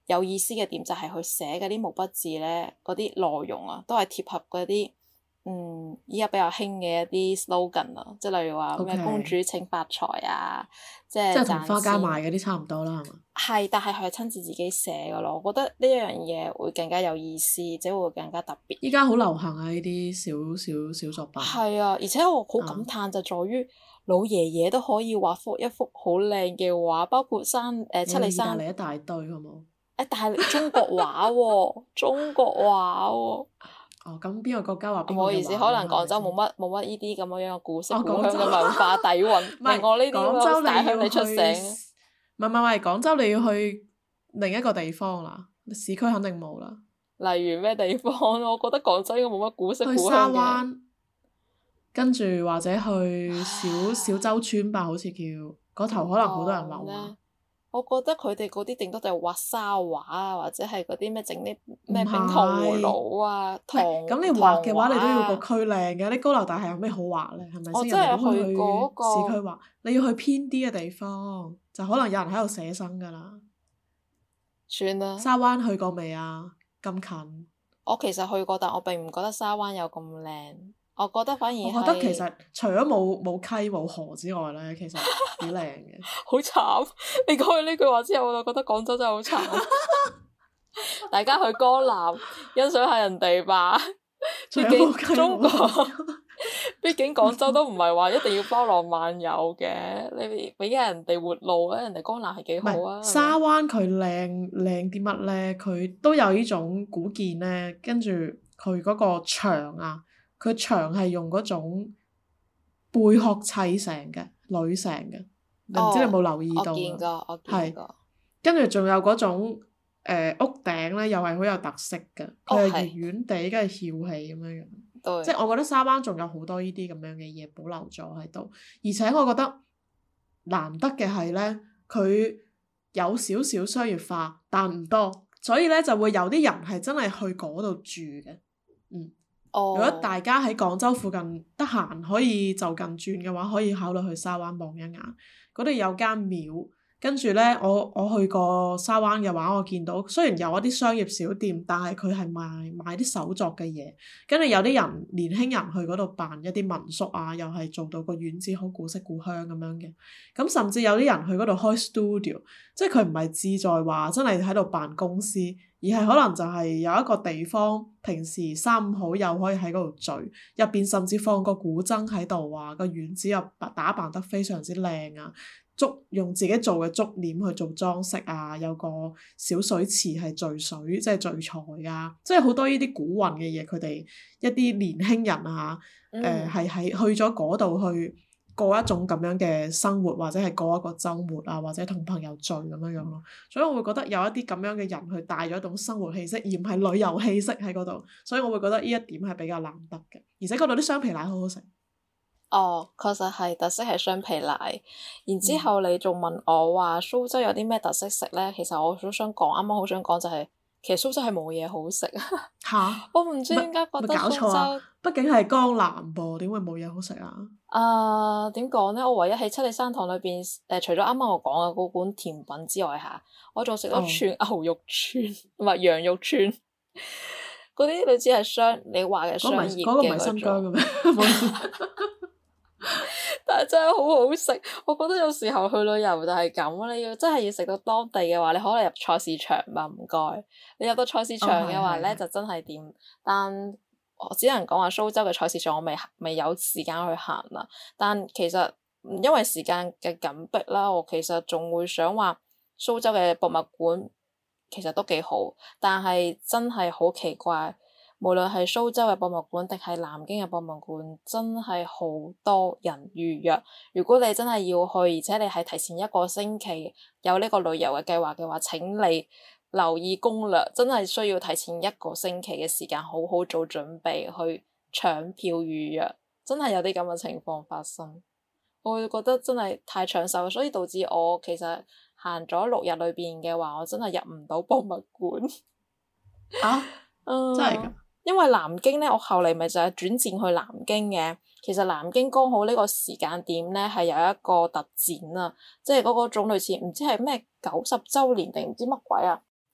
有意思嘅點就係佢寫嗰啲毛筆字咧，嗰啲內容啊，都係貼合嗰啲嗯依家比較興嘅一啲 slogan 啊，即係例如話咩 OK 公主請發財啊，即即係賺係同花街錢。 賣嗰啲差唔多啦，係嘛？ 係，但係佢係親自自己寫嘅咯，我覺得呢一樣嘢會更加有意思，即係會更加特別。 依家好流行啊！呢啲小小小作品。 係啊，而且我好感嘆就在於老爺爺都可以畫幅一幅好靚嘅畫，包括山誒七里意大山。 利一大堆，好冇？ 誒，但係中國畫喎，中國畫喎。 哦，咁邊個國家畫邊個嘅唔好意思， 畫可能廣州係咪冇乜冇乜呢啲咁樣嘅古色哦古香廣州嘅文化底蘊， 唔係令我呢啲廣州大鄉你要去里出醒。 唔係唔係唔係，廣州你要去另一個地方啦，市區肯定冇啦。 例如咩地方？我覺得廣州應該冇乜古色去沙古香嘅。 灣，跟住或者去小小洲村吧，好似叫嗰頭，可能好多人留咧啊。 我覺得佢哋嗰啲頂多就係畫沙畫啊，或者係嗰啲咩整啲咩唔冰糖葫係蘆啊、 唔糖係咁你畫嘅話，你都要個糖畫啊。 區靚嘅。啲高樓大廈有咩好畫咧？係咪先？ 我真係人哋都會去過嗰個市區畫，你要去偏啲嘅地方，就可能有人喺度寫生㗎啦。 算啦， 沙灣去過未啊？咁近。 我其實去過，但我並唔覺得沙灣有咁靚。我覺得反而我覺得係其實除咗冇冇溪冇河之外咧，其實幾靚嘅。 好慘。你講完呢句話之後，我就覺得廣州真係好慘。大家去江南欣賞下人哋吧。 除畢咗冇溪竟中國， 冇河之外畢竟廣州都唔係話一定要包羅萬有嘅。你俾下人哋活路啊，人哋江南係幾唔好啊。 係沙灣佢靚靚啲乜咧？佢都有呢種古建咧，跟住佢嗰個牆啊，佢牆係用嗰種貝殼砌成嘅鋁成嘅，唔知你有冇留意到我見啊？ 過，我見係過。 跟住仲有嗰種誒、呃、屋頂咧，又係好有特色嘅，佢係哦係圓圓地，跟住翹起咁樣樣。 對。 即係我覺得沙灣仲有好多呢啲咁樣嘅嘢保留咗喺度，而且我覺得難得嘅係咧，佢有少少商業化，但唔多，所以咧就會有啲人係真係去嗰度住嘅。嗯， 哦。 如果大家喺廣州附近得閒可以就近轉嘅話，可以考慮去沙灣望一眼，嗰度有間廟。跟住咧，我我去過沙灣嘅話，我見到雖然有一啲商業小店，但係佢係賣賣啲手作嘅嘢。跟住有啲人年輕人去嗰度辦一啲民宿啊，又係做到個院子好古色古香咁樣嘅。咁甚至有啲人去嗰度開 studio，即係佢唔係志在話真係喺度辦公司，而係可能就係有一個地方，平時三五好友可以喺嗰度聚，入邊甚至放個古箏喺度啊，個院子又打扮得非常之靚啊。竹用自己做嘅竹簾去做裝飾啊，有個小水池係聚水，即係聚財啊，即係好多呢啲古韻嘅嘢，佢哋一啲年輕人啊，誒係喺去咗嗰度去過一種咁樣嘅生活，或者係過一個週末啊，或者同朋友聚咁樣樣咯。所以我會覺得有一啲咁樣嘅人去帶咗一種生活氣息，而唔係旅遊氣息喺嗰度，所以我會覺得呢一點係比較難得嘅，而且嗰度啲雙皮奶好好食。 哦，確實係特色係雙皮奶。然之後你仲問我話蘇州有啲咩特色食咧？其實我好想講，啱啱好想講就係、是，其實蘇州係冇嘢好食。 嚇！ 我唔知點解覺得咪搞蘇州， 錯啊！畢竟係江南噃，點會冇嘢好食啊？ 啊點講咧？我唯一喺七里山堂裏邊誒、呃，除咗啱啱我講嘅嗰款甜品之外嚇，我仲食咗串牛肉串，唔係羊肉串。嗰啲你知係商，你話嘅商業嘅嗰個唔係新疆嘅咩？唔好意思。 但係真係好好食，我覺得有時候去旅遊就係咁，你要真係要食到當地嘅話，你可能入菜市場吧，唔該。你入到菜市場嘅話咧， 哦、 就真係掂。但我只能講話蘇州嘅菜市場我未未有時間去行啦。但其實因為時間嘅緊迫啦，我其實仲會想話蘇州嘅博物館其實都幾好，但係真係好奇怪。無論係蘇州嘅博物館定係南京嘅博物館，真係好多人預約。如果你真係要去，而且你係提前一個星期有呢個旅遊嘅計劃嘅話，請你留意攻略，真係需要提前一個星期嘅時間，好好做準備去搶票預約。真係有啲咁嘅情況發生，我會覺得真係太搶手，所以導致我其實行咗六日裏邊嘅話，我真係入唔到博物館。 啊！ 嗯、 真係㗎？ 因為南京咧，我後嚟咪就係轉戰去南京嘅。其實南京剛好呢個時間點咧，係有一個特展啊，即係嗰個種類似唔知係咩九十週年定唔知乜鬼啊，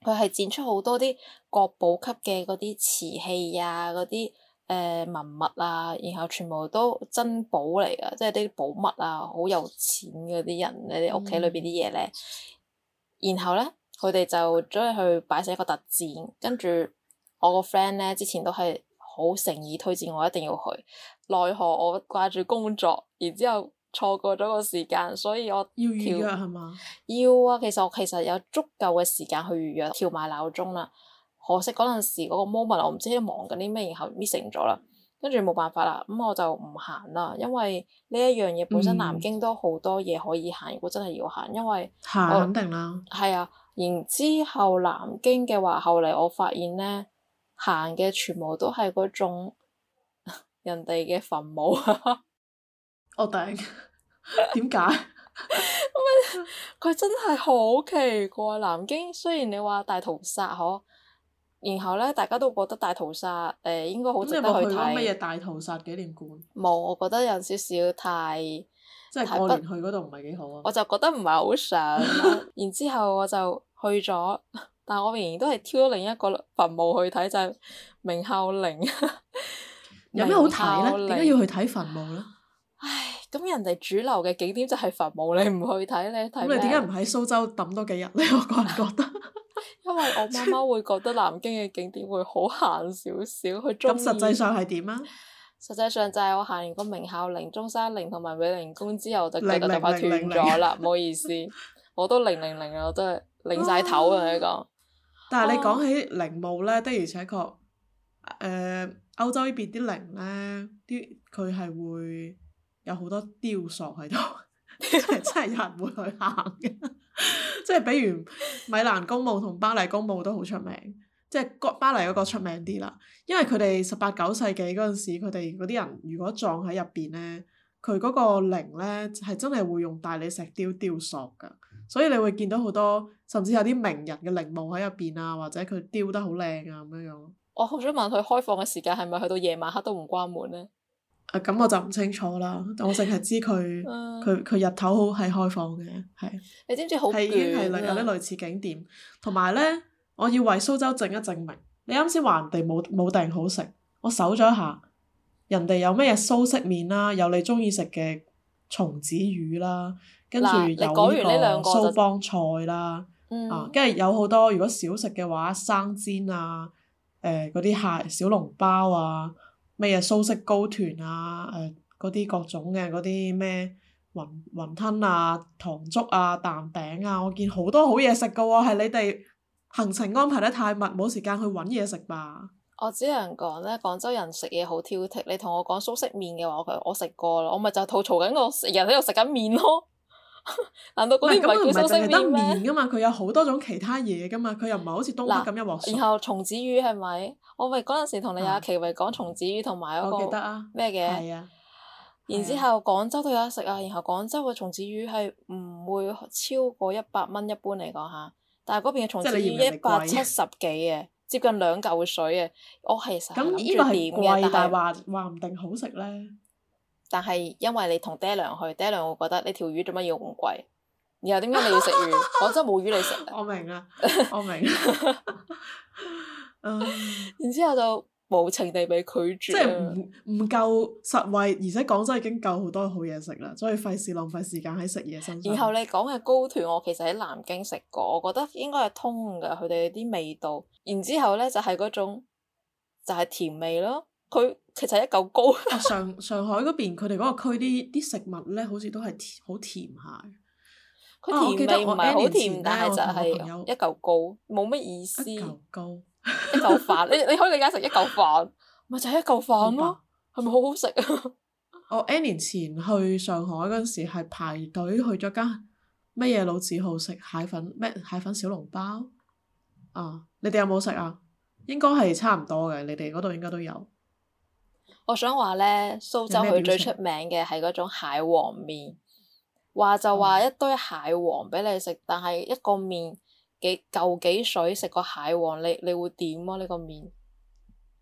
佢係展出好多啲國寶級嘅嗰啲瓷器啊，嗰啲誒文物啊，然後全部都珍寶嚟㗎，即係啲寶物啊，好有錢嗰啲人，你哋屋企裏邊啲嘢咧。嗯、然後咧，佢哋就走去擺成一個特展，跟住我個 friend 咧之前都係好誠意推薦我一定要去，奈何我掛住工作，然之後錯過咗個時間，所以我要預約係嘛？ 要啊，其實我其實有足夠嘅時間去預約，調埋鬧鐘啦。可惜嗰陣時嗰個 moment 我唔知喺度忙緊啲咩，然後 missing 咗啦，跟住冇辦法啦，咁我就唔行啦，因為呢一樣嘢本身南京都好多嘢可以行，如果真係要行，因為行肯定啦。 係啊，然之後南京嘅話，後嚟我發現咧，行嘅全部都係嗰種人哋嘅墳墓。 我頂，點解？ 佢真係好奇怪。南京雖然你話大屠殺嗬，然後咧大家都覺得大屠殺誒、呃、應該好值得去睇。 咁你有冇去過乜嘢大屠殺紀念館？ 冇，我覺得有少少太即係過年去嗰度唔係幾好啊。 我就覺得唔係好想。然之後我就去咗，但我仍然都係挑另一個墳墓去睇，就係、是、明孝陵。 有咩好睇咧？點解要去睇墳墓咧？ 唉，咁人哋主流嘅景點就係墳墓，你唔去睇，你睇咩？ 咁你點解唔喺蘇州揼多幾日咧？我個人覺得， 因為我媽媽會覺得南京嘅景點會好閒少少，佢中意。 咁實際上係點啊？ 實際上就係我行完個明孝陵、中山陵同埋美齡宮之後，就腳就快斷咗啦，唔好意思，我都零零零啊，我都係擰晒頭啊！你講。 但係你講起陵墓咧，的而且確，誒、呃、歐洲呢邊啲陵咧，啲佢係會有好多雕塑喺度，即係真係有人會去行嘅。即係比如米蘭公墓同巴黎公墓都好出名，即係巴黎嗰個出名啲啦，因為佢哋十八九世紀嗰陣時，佢哋嗰啲人如果葬喺入邊咧，佢嗰個陵咧係真係會用大理石雕雕塑㗎，所以你會見到好多，甚至有啲名人嘅陵墓喺入邊啊，或者佢雕得好靚啊咁樣樣。 我好想問佢開放嘅時間係咪去到夜晚黑都唔關門咧？ 啊，咁我就唔清楚啦，我淨係知佢佢佢日頭好係開放嘅，係。 你知唔知好係已經係有啲類似景點，同埋咧，我要為蘇州證一證明。你啱先話人哋冇冇訂好食，我搜咗一下，人哋有咩嘢蘇式麵啦，有你中意食嘅松子魚啦，跟住有呢個蘇幫菜啦， 嗯、 啊，跟住有好多如果小食嘅話，生煎啊，誒嗰啲蟹小籠包啊。咩嘢蘇式糕團啊，誒嗰啲各種嘅嗰啲咩雲雲吞啊、糖粥啊、蛋餅啊，我見好多好嘢食噶喎，係你哋行程安排得太密，冇時間去揾嘢食吧？ 我只能講咧，廣州人食嘢好挑剔。你同我講蘇式麵嘅話，我我食過啦，我咪就吐槽緊我成日喺度食緊麵咯。難道嗰啲唔係叫蘇式麵咩？ 麵噶嘛，佢有好多種其他嘢噶嘛，佢又唔係好似東北咁一鑊熟。 然後松子魚係咪？我咪嗰陣時同你阿琪咪講松子魚同埋嗰個咩嘅？ 係啊。 然之後廣州都有得食啊，然後廣州嘅松子魚係唔會超過一百蚊，一般嚟講嚇。但係嗰邊嘅松子魚一百七十幾嘅，接近兩嚿水嘅。我其實諗住點嘅， 但係話話唔定好食咧。 但係因為你同爹娘去，爹娘會覺得呢條魚做乜要咁貴？然後點解你要食魚？廣州冇魚你食。 我明啊，我明。 然之後就無情地被拒絕。 即係唔唔夠實惠，而且廣州已經夠好多好嘢食啦，所以費事浪費時間喺食嘢身上。 然後你講嘅糕團，我其實喺南京食過，我覺得應該係通㗎，佢哋啲味道。然之後咧就係、是、嗰種就係、是、甜味咯。佢其實一嚿糕。 上上海嗰邊佢哋嗰個區啲啲食物咧，好似都係甜好甜下。 佢甜味唔係好甜，但係就係一嚿糕，冇乜意思。 一嚿糕。 一嚿飯，你你可以理解成一嚿飯，咪就係一嚿飯咯，係咪好好食啊？ 我 N 年前去上海嗰陣時，係排隊去咗間乜嘢老字號食蟹粉咩蟹粉小籠包啊！你哋有冇食啊？應該係差唔多嘅，你哋嗰度應該都有。 我想話咧，蘇州佢最出名嘅係嗰種蟹黃麵，話就話一堆蟹黃俾你食，但係一個麵。幾嚿幾水食個蟹黃，你你會點啊？呢個麵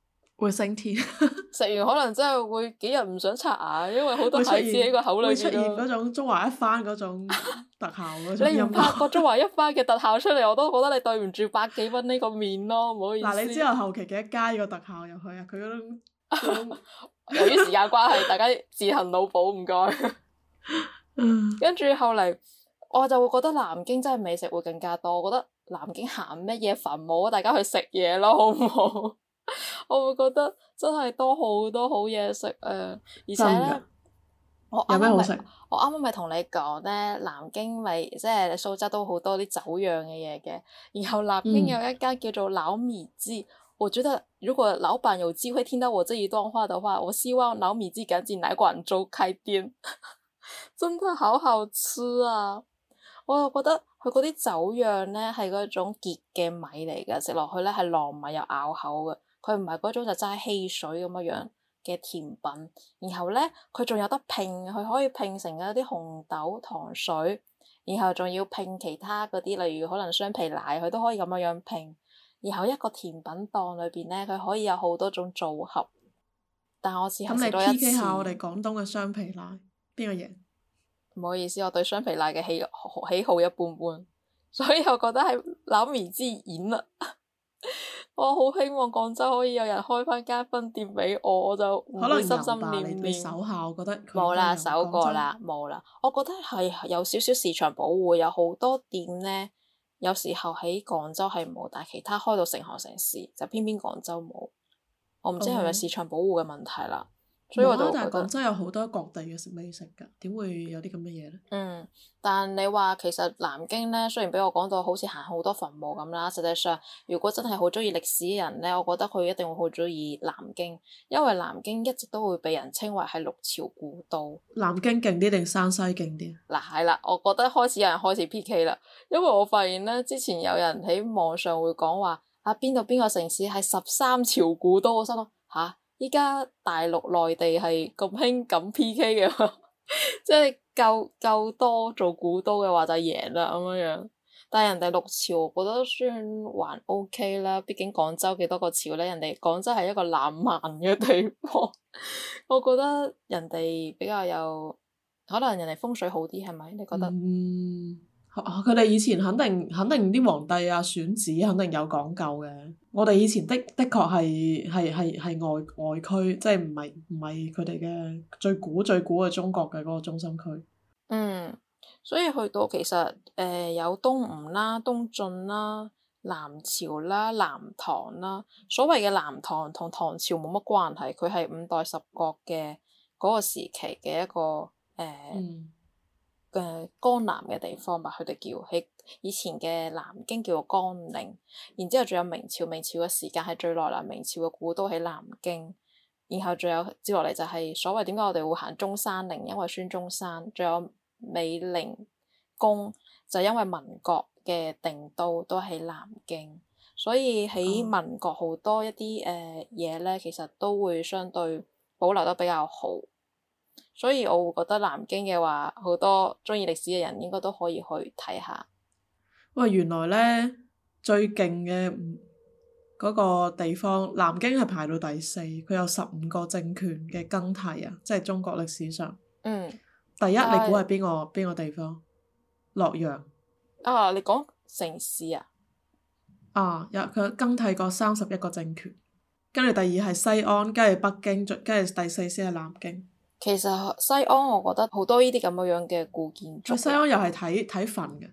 會升天， 食完可能真係會幾日唔想刷牙，因為好多會出蟹子喺個口裏會出現邊咯。 嗰種中華一番嗰種特效嗰種音你唔拍個樂。 中華一番嘅特效出嚟，我都覺得你對唔住百幾蚊呢個面咯，唔好意思。 嗱，你之後後期記得加呢個特效入去啊！佢嗰種嗰種由於時間關係，大家自行腦補唔該。 嗯跟住後嚟，我就會覺得南京真係美食會更加多。我覺得南京行乜嘢墳墓啊？大家去食嘢咯，好唔好？我會覺得真係多好多好嘢食啊！而且真咧㗎， 我啱啱咪有咩好食？ 我啱啱咪同你講咧，南京咪即係蘇州都好多啲走樣嘅嘢嘅。然後南京有一間叫做老米雞，我覺得如果老闆有機會聽到我這一段話的話，我希望老米雞趕緊來廣州開店，真的好好吃啊！我又覺得佢嗰啲酒釀咧係嗰種結嘅米嚟嘅，食落去咧係糯米又咬口嘅，佢唔係嗰種就齋汽水咁樣樣嘅甜品。然後咧佢仲有得拼，佢可以拼成一啲紅豆糖水，然後仲要拼其他嗰啲，例如可能雙皮奶，佢都可以咁樣樣拼。然後一個甜品檔裏邊咧，佢可以有好多種組合。但我只係咁你食咗一 P K 次。 下我哋廣東嘅雙皮奶，邊個贏？ 唔好意思，我對雙皮奶嘅喜喜好一般般，所以我覺得係老米之演啦。我好希望廣州可以有人開翻間分店俾我，我就唔可能會心有吧，你心念念。 你手下我覺得佢冇啦， 應該有搜過啦，冇啦。我覺得係有少少市場保護，有好多店呢，有時候喺廣州係冇，但係其他開到成行成市，就偏偏廣州冇。我唔知係咪市場保護嘅問題啦。所以我就冇啊， 覺得但係廣州有好多各地嘅食美食㗎，點會有啲咁嘅嘢咧？ 嗯，但你話其實南京咧，雖然俾我講到好似行好多墳墓咁啦，實際上如果真係好中意歷史嘅人咧，我覺得佢一定會好中意南京，因為南京一直都會被人稱為係六朝古都。 南京勁啲定山西勁啲？ 嗱係啦，我覺得開始有人開始 P K 啦，因為我發現咧，之前有人喺網上會講話啊邊度邊個城市係十三朝古都，我心諗吓。依家大陸內地係咁興咁 P K 嘅，即係夠夠多做古都嘅話就贏啦咁樣樣。但係人哋六朝，我覺得算還 OK 啦。畢竟廣州幾多個朝咧？人哋廣州係一個浪漫嘅地方，我覺得人哋比較有可能人哋風水好啲，係咪？你覺得？ 嗯，佢哋以前肯定肯定啲皇帝啊選址肯定有講究嘅。我哋以前的的確係係係係外外區，即係唔係唔係佢哋嘅最古最古嘅中國嘅嗰個中心區。 嗯，所以去到其實誒、呃、有東吳啦、東晉啦、南朝啦、南唐啦。所謂嘅南唐同唐朝冇乜關係，佢係五代十國嘅嗰個時期嘅一個誒。呃嗯嘅江南嘅地方吧，佢哋叫喺以前嘅南京叫做江寧，然之後仲有明朝，明朝嘅時間係最耐啦，明朝嘅古都喺南京，然後仲有接落嚟就係所謂點解我哋會行中山陵，因為孫中山，仲有美齡宮，就因為民國嘅定都都喺南京，所以喺民國好多一啲誒嘢咧，其實都會相對保留得比較好。所以我會覺得南京嘅話，好多鍾意歷史嘅人應該都可以去睇下。 喂，原來咧最勁嘅嗰個地方，南京係排到第四，佢有十五個政權嘅更替啊，即係中國歷史上。 嗯。 第一， 但你估係邊個邊個地方？洛陽。 啊！你講城市啊？ 啊，有佢更替過三十一個政權，跟住第二係西安，跟住北京，跟住第四先係南京。 其實西安我覺得好多呢啲咁樣樣嘅古建築。 西安又係睇睇墳嘅，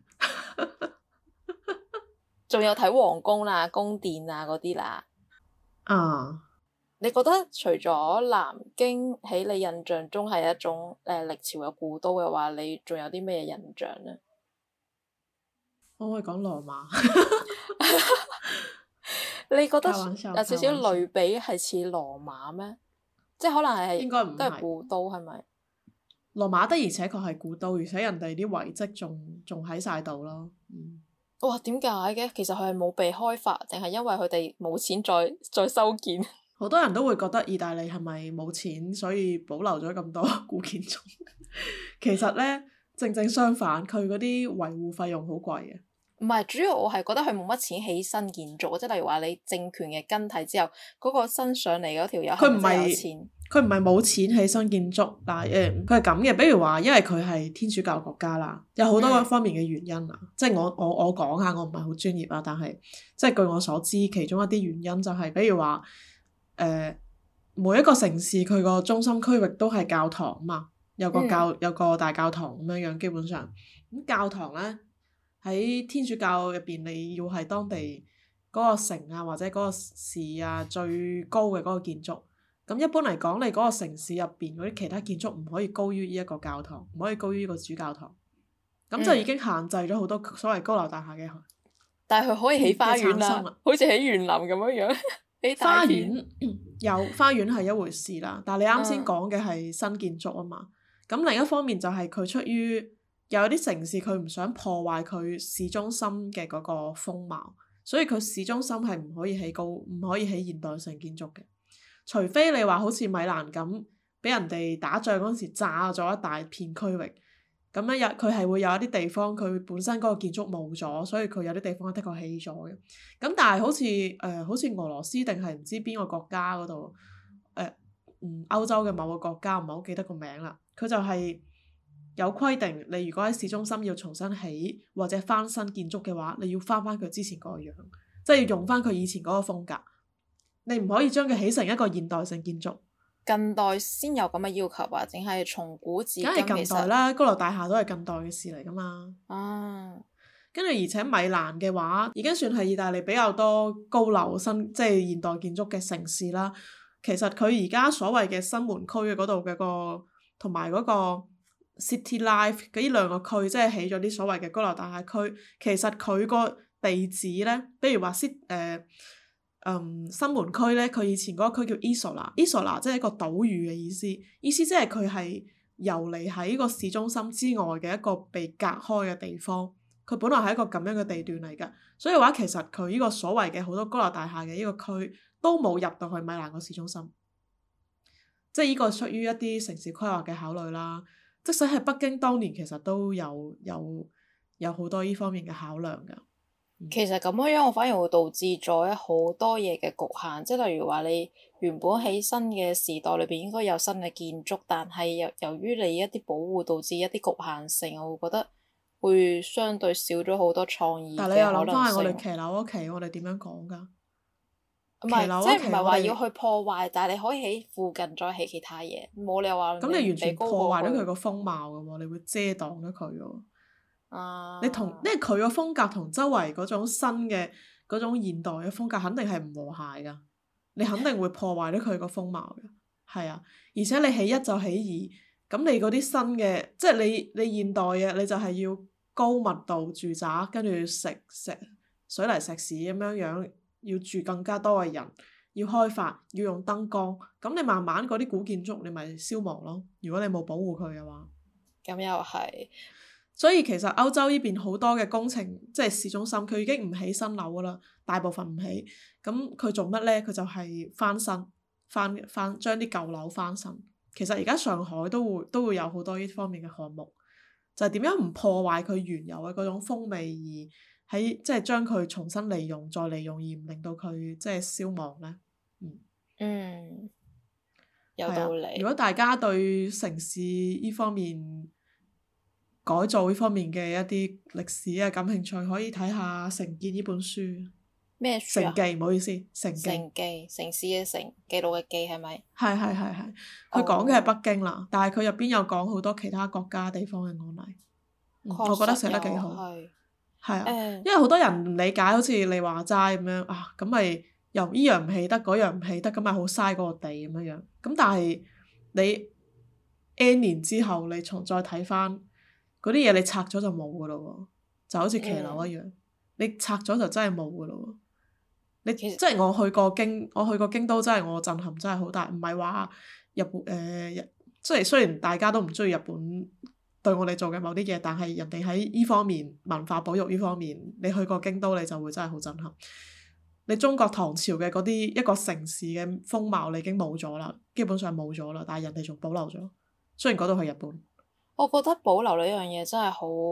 仲有睇皇宮啦、宮殿啊嗰啲啦。 啊！ 你覺得除咗南京喺你印象中係一種誒歷朝嘅古都嘅話，你仲有啲咩印象呢？ 可唔可以講羅馬？ 你覺得開玩笑有少少類比係似羅馬咩？即係可能係應該唔係都係古都係咪？ 羅馬的而且確係古都，而且人哋啲遺跡仲仲喺晒度咯。嗯， 哇！點解嘅？其實佢係冇被開發，定係因為佢哋冇錢再再修建？ 好多人都會覺得意大利係咪冇錢，所以保留咗咁多古建築？其實呢，正正相反，佢嗰啲維護費用好貴嘅。 唔係，主要我係覺得佢冇乜錢起新建築，即係例如話你政權嘅更替之後，嗰、嗰個新上嚟嗰條友係咪真係有錢？ 佢唔係冇錢起新建築，但係誒佢係咁嘅。比如話，因為佢係天主教國家啦，有好多方面嘅原因啊。嗯、即係我我我講下，我唔係好專業啊，但係即係據我所知，其中一啲原因就係、是，比如話誒、呃、每一個城市佢個中心區域都係教堂啊嘛，有個教、嗯、有個大教堂咁樣樣，基本上咁教堂咧。喺天主教入邊，你要係當地嗰個城啊，或者嗰個市啊最高嘅嗰個建築。咁一般嚟講，你嗰個城市入邊嗰啲其他建築唔可以高於呢一個教堂，唔可以高於呢個主教堂。咁就已經限制咗好多所謂高樓大廈嘅。 但係佢可以起花園啦，好似起園林咁樣樣。 花園有花園係一回事啦，但係你啱先講嘅係新建築啊嘛。咁、嗯、另一方面就係佢出於。有啲城市佢唔想破壞佢市中心嘅嗰個風貌，所以佢市中心係唔可以起高，唔可以起現代性建築嘅。除非你話好似米蘭咁，俾人哋打仗嗰陣時炸咗一大片區域，咁咧有佢係會有一啲地方佢本身嗰個建築冇咗，所以佢有啲地方的確起咗嘅。咁但係好似誒、呃、好似俄羅斯定係唔知邊個國家嗰度誒嗯歐洲嘅某個國家，唔係好記得個名啦，佢就係、是。有規定，你如果喺市中心要重新起或者翻新建築嘅話，你要翻翻佢之前嗰個樣，即係要用翻佢以前嗰個風格。你唔可以將佢起成一個現代性建築。 近代先有咁嘅要求啊？淨係從古至今其實。梗係近代啦，高樓大廈都係近代嘅事嚟噶嘛。 啊。 跟住而且米蘭嘅話，已經算係意大利比較多高樓新即係現代建築嘅城市啦。其實佢而家所謂嘅新門區嘅嗰度嘅個同埋嗰個。City Life 嗰呢兩個區，即係起咗啲所謂嘅高樓大廈區。其實佢個地址咧，比如話 City 誒嗯新門區咧，佢以前嗰個區叫 Isola，Isola 即係一個島嶼嘅意思。意思即係佢係遊離喺個市中心之外嘅一個被隔開嘅地方。佢本來係一個咁樣嘅地段嚟㗎，所以話其實佢呢個所謂嘅好多高樓大廈嘅呢個區都冇入到去米蘭個市中心。即係呢個出於一啲城市規劃嘅考慮啦。即使係北京當年其實都有有有好多呢方面嘅考量㗎。 嗯、其實咁樣樣，我反而會導致咗好多嘢嘅局限。即係例如話，你原本喺新嘅時代裏邊應該有新嘅建築，但係由由於你一啲保護，導致一啲局限性，我會覺得會相對少咗好多創意嘅可能性。但係你又諗翻係我哋騎樓嗰期，我哋點樣講㗎？唔係，即係唔係話要去破壞，但係你可以喺附近再起其他嘢，冇理由話。 咁你完全破壞咗佢個風貌㗎喎，你會遮擋咗佢喎。啊！你同，因為佢個風格同周圍嗰種新嘅嗰種現代嘅風格肯定係唔和諧㗎，你肯定會破壞咗佢個風貌㗎。係啊，而且你起一就起二，咁你嗰啲新嘅，即係你你現代嘅，你就係要高密度住宅，跟住石石水泥石屎咁樣樣。要住更加多嘅人，要開發，要用燈光，咁你慢慢嗰啲古建築你咪消亡咯。如果你冇保護佢嘅話， 咁又係。 所以其實歐洲呢邊好多嘅工程，即係市中心，佢已經唔起新樓噶啦，大部分唔起。咁佢做乜呢？佢就係翻新，翻翻將啲舊樓翻新。其實而家上海都會都會有好多呢方面嘅項目，就係點樣唔破壞佢原有嘅嗰種風味而。喺即係將佢重新利用、再利用，而唔令到佢即係消亡咧。嗯， 嗯，有道理。 如果大家對城市呢方面改造呢方面嘅一啲歷史啊感興趣，可以睇下《城建》呢本書。 咩書啊？ 城記，唔好意思，城記。 城記，城市嘅城，記錄嘅記係咪？ 係係係係，佢講嘅係北京啦，oh. 但係佢入邊有講好多其他國家地方嘅案例。嗯、我覺得寫得幾好。係啊，嗯、因為好多人唔理解，好似你話齋咁樣啊，咁咪又依樣唔起得，嗰樣唔起得，咁咪好嘥嗰個地咁樣樣。咁但係你 N 年之後，你重再睇翻嗰啲嘢，你拆咗就冇噶咯喎，就好似騎樓一樣，嗯、你拆咗就真係冇噶咯喎。你即係我去過京，我去過京都，真係我震撼真係好大，唔係話日本誒，即、呃、係雖然大家都唔中意日本。對我哋做嘅某啲嘢，但係人哋喺呢方面文化保育呢方面，你去過京都你就會真係好震撼。你中國唐朝嘅嗰啲一個城市嘅風貌你已經冇咗啦，基本上冇咗啦，但係人哋仲保留咗。雖然嗰度係日本， 我覺得保留呢樣嘢真係好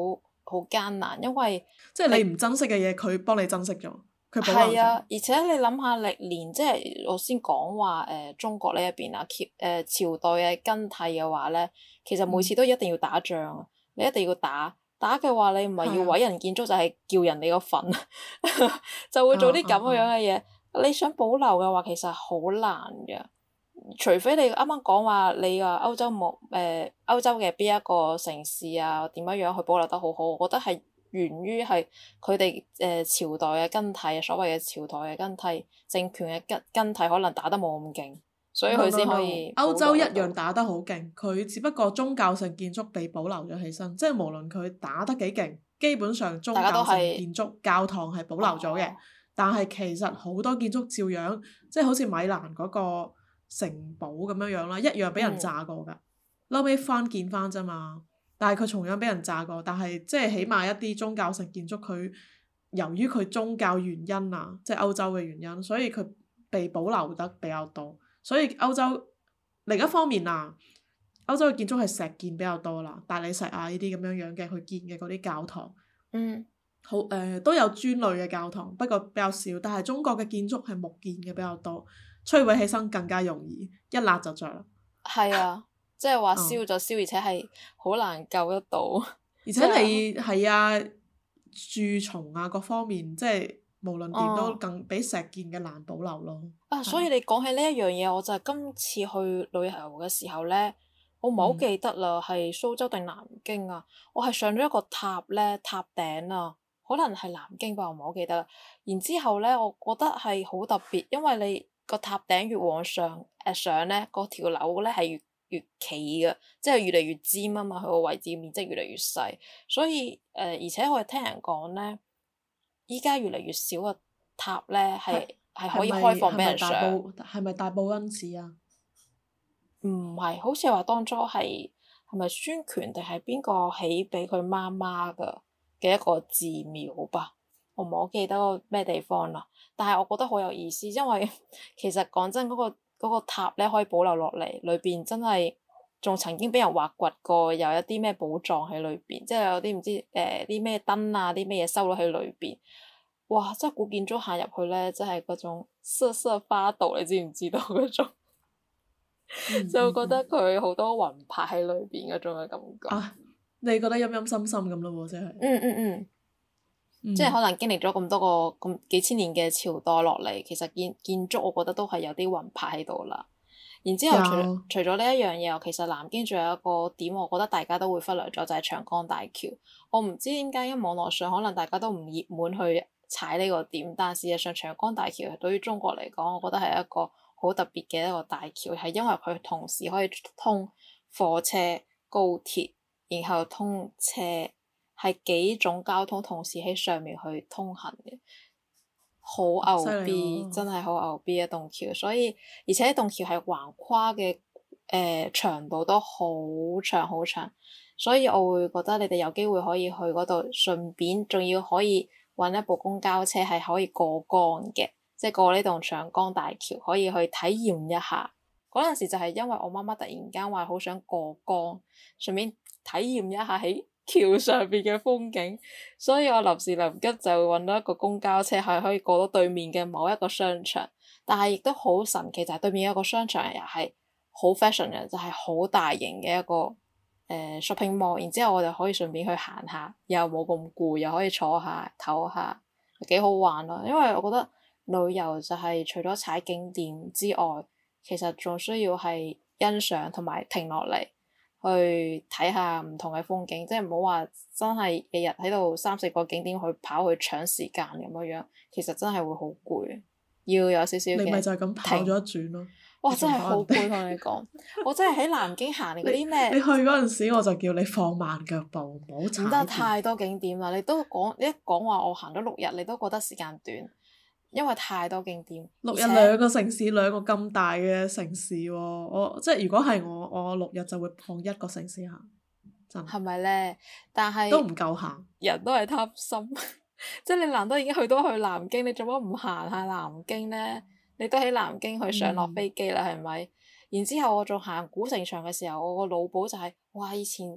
好艱難，因為即係你唔珍惜嘅嘢，佢幫你珍惜咗，佢保留係啊， 咗。 而且你諗下歷年，即係我先講話誒中國呢一邊啊，朝誒朝代嘅更替嘅話咧，其實每次都一定要打仗啊，你一定要打打嘅話，你唔係要毀人建築，就係叫人哋個墳，就會做啲咁樣嘅嘢。你想保留嘅話，其實好難嘅，除非你啱啱講話你話歐洲冇誒歐洲嘅邊一個城市啊，點樣樣去保留得好好，我覺得係源於係佢哋誒朝代嘅更替，所謂嘅朝代嘅更替，政權嘅更更替，可能打得冇咁勁，所以佢先可以。 歐洲一樣打得好勁，佢只不過宗教性建築被保留咗起身，即係無論佢打得幾勁，基本上宗教性建築教堂係保留咗嘅。哦、但係其實好多建築照樣，即係好似米蘭嗰個城堡咁樣樣啦，一樣俾人炸過㗎，後尾、嗯、翻建翻啫嘛。但係佢同樣俾人炸過，但係即係起碼一啲宗教性建築，佢由於佢宗教原因啊，即係歐洲嘅原因，所以佢被保留得比較多。所以歐洲另一方面啊，歐洲嘅建築係石建比較多啦，大理石啊呢啲咁樣樣嘅去建嘅嗰啲教堂， 嗯， 好誒、呃、都有磚類嘅教堂，不過比較少。但係中國嘅建築係木建嘅比較多，摧毀起身更加容易，一焫就着啦。 係啊。即係話燒就燒，嗯、而且係好難救得到。 而且你係啊，蛀蟲啊各方面，即係無論點都更比石建嘅難保留咯。 啊，所以你講起呢一樣嘢，我就係今次去旅遊嘅時候呢，我唔係好記得啦，係、嗯、蘇州定南京啊？我係上咗一個塔呢，塔頂啊，可能係南京吧，我唔係好記得啦。然之後呢，我覺得係好特別，因為你個塔頂越往上誒、呃、上呢，嗰條樓呢係越越企嘅，即係越嚟越尖啊嘛，佢個位置面積越嚟越細，所以誒、呃，而且我係聽人講咧，依家越嚟越少嘅塔咧，係係可以開放俾人上。 係咪大報恩寺啊？ 唔係，好似話當初係係咪孫權定係邊個起俾佢媽媽嘅嘅一個寺廟吧？我唔好記得個咩地方啦，但係我覺得好有意思，因為其實講真嗰個。嗰個塔咧可以保留落嚟，裏邊真係仲曾經俾人挖掘過，有一啲咩寶藏喺裏邊，即係有啲唔知誒啲咩燈啊，啲咩嘢收咗喺裏邊。哇！真係古建築行入去咧，真係嗰種瑟瑟發抖，你知唔知道嗰種？嗯、就覺得佢好多魂魄喺裏邊嗰種嘅感覺。 啊！你覺得陰陰森森咁咯喎，真係。 嗯嗯嗯。嗯、即係可能經歷咗咁多個咁幾千年嘅朝代落嚟，其實建建築我覺得都係有啲魂魄喺度啦。然之後除有除咗呢一樣嘢，其實南京仲有一個點，我覺得大家都會忽略咗，就係、是、長江大橋。我唔知點解，因為網絡上可能大家都唔熱門去踩呢個點，但事實上長江大橋對於中國嚟講，我覺得係一個好特別嘅一個大橋，係因為佢同時可以通火車、高鐵，然後通車。係幾種交通同時喺上面去通行嘅，好牛逼，真係好牛逼一棟橋。所以而且棟橋係橫跨嘅，誒、呃、長度都好長好長。所以我會覺得你哋有機會可以去嗰度，順便仲要可以揾一部公交車係可以過江嘅，即係過呢棟長江大橋，可以去體驗一下。嗰陣時就係因為我媽媽突然間話好想過江，順便體驗一下喺橋上邊嘅風景，所以我臨時臨急就揾到一個公交車係可以過到對面嘅某一個商場，但係亦都好神奇，就係、是、對面有一個商場又係好 fashion 嘅，就係、是、好大型嘅一個誒、呃、shopping mall，然之後我哋可以順便去行下，又冇咁攰，又可以坐下唞下，幾好玩咯。因為我覺得旅遊就係除咗踩景點之外，其實仲需要係欣賞同埋停落嚟。去睇下唔同嘅風景，即係唔好話真係日日喺度三四個景點去跑去搶時間咁樣樣，其實真係會好攰，要有少少嘅。 你咪就係咁跑咗一轉咯。 哇！真係好攰，同你講，我真係喺南京行嗰啲咩？ 你去嗰陣時我就叫你放慢腳步，唔好踩。 唔得，太多景點啦！你都講你一講話我行咗六日，你都覺得時間短。因為太多景點， 六日兩個城市，兩個咁大嘅城市喎，我即係如果係我，我六日就會放一個城市行，真係。 係咪咧？但係都唔夠行， 人都係貪心，即係你難得已經去到去南京，你做乜唔行下南京咧？你都喺南京去上落飛機啦，係咪、嗯？然之後我仲行古城牆嘅時候，我個腦補就係、是，哇！以前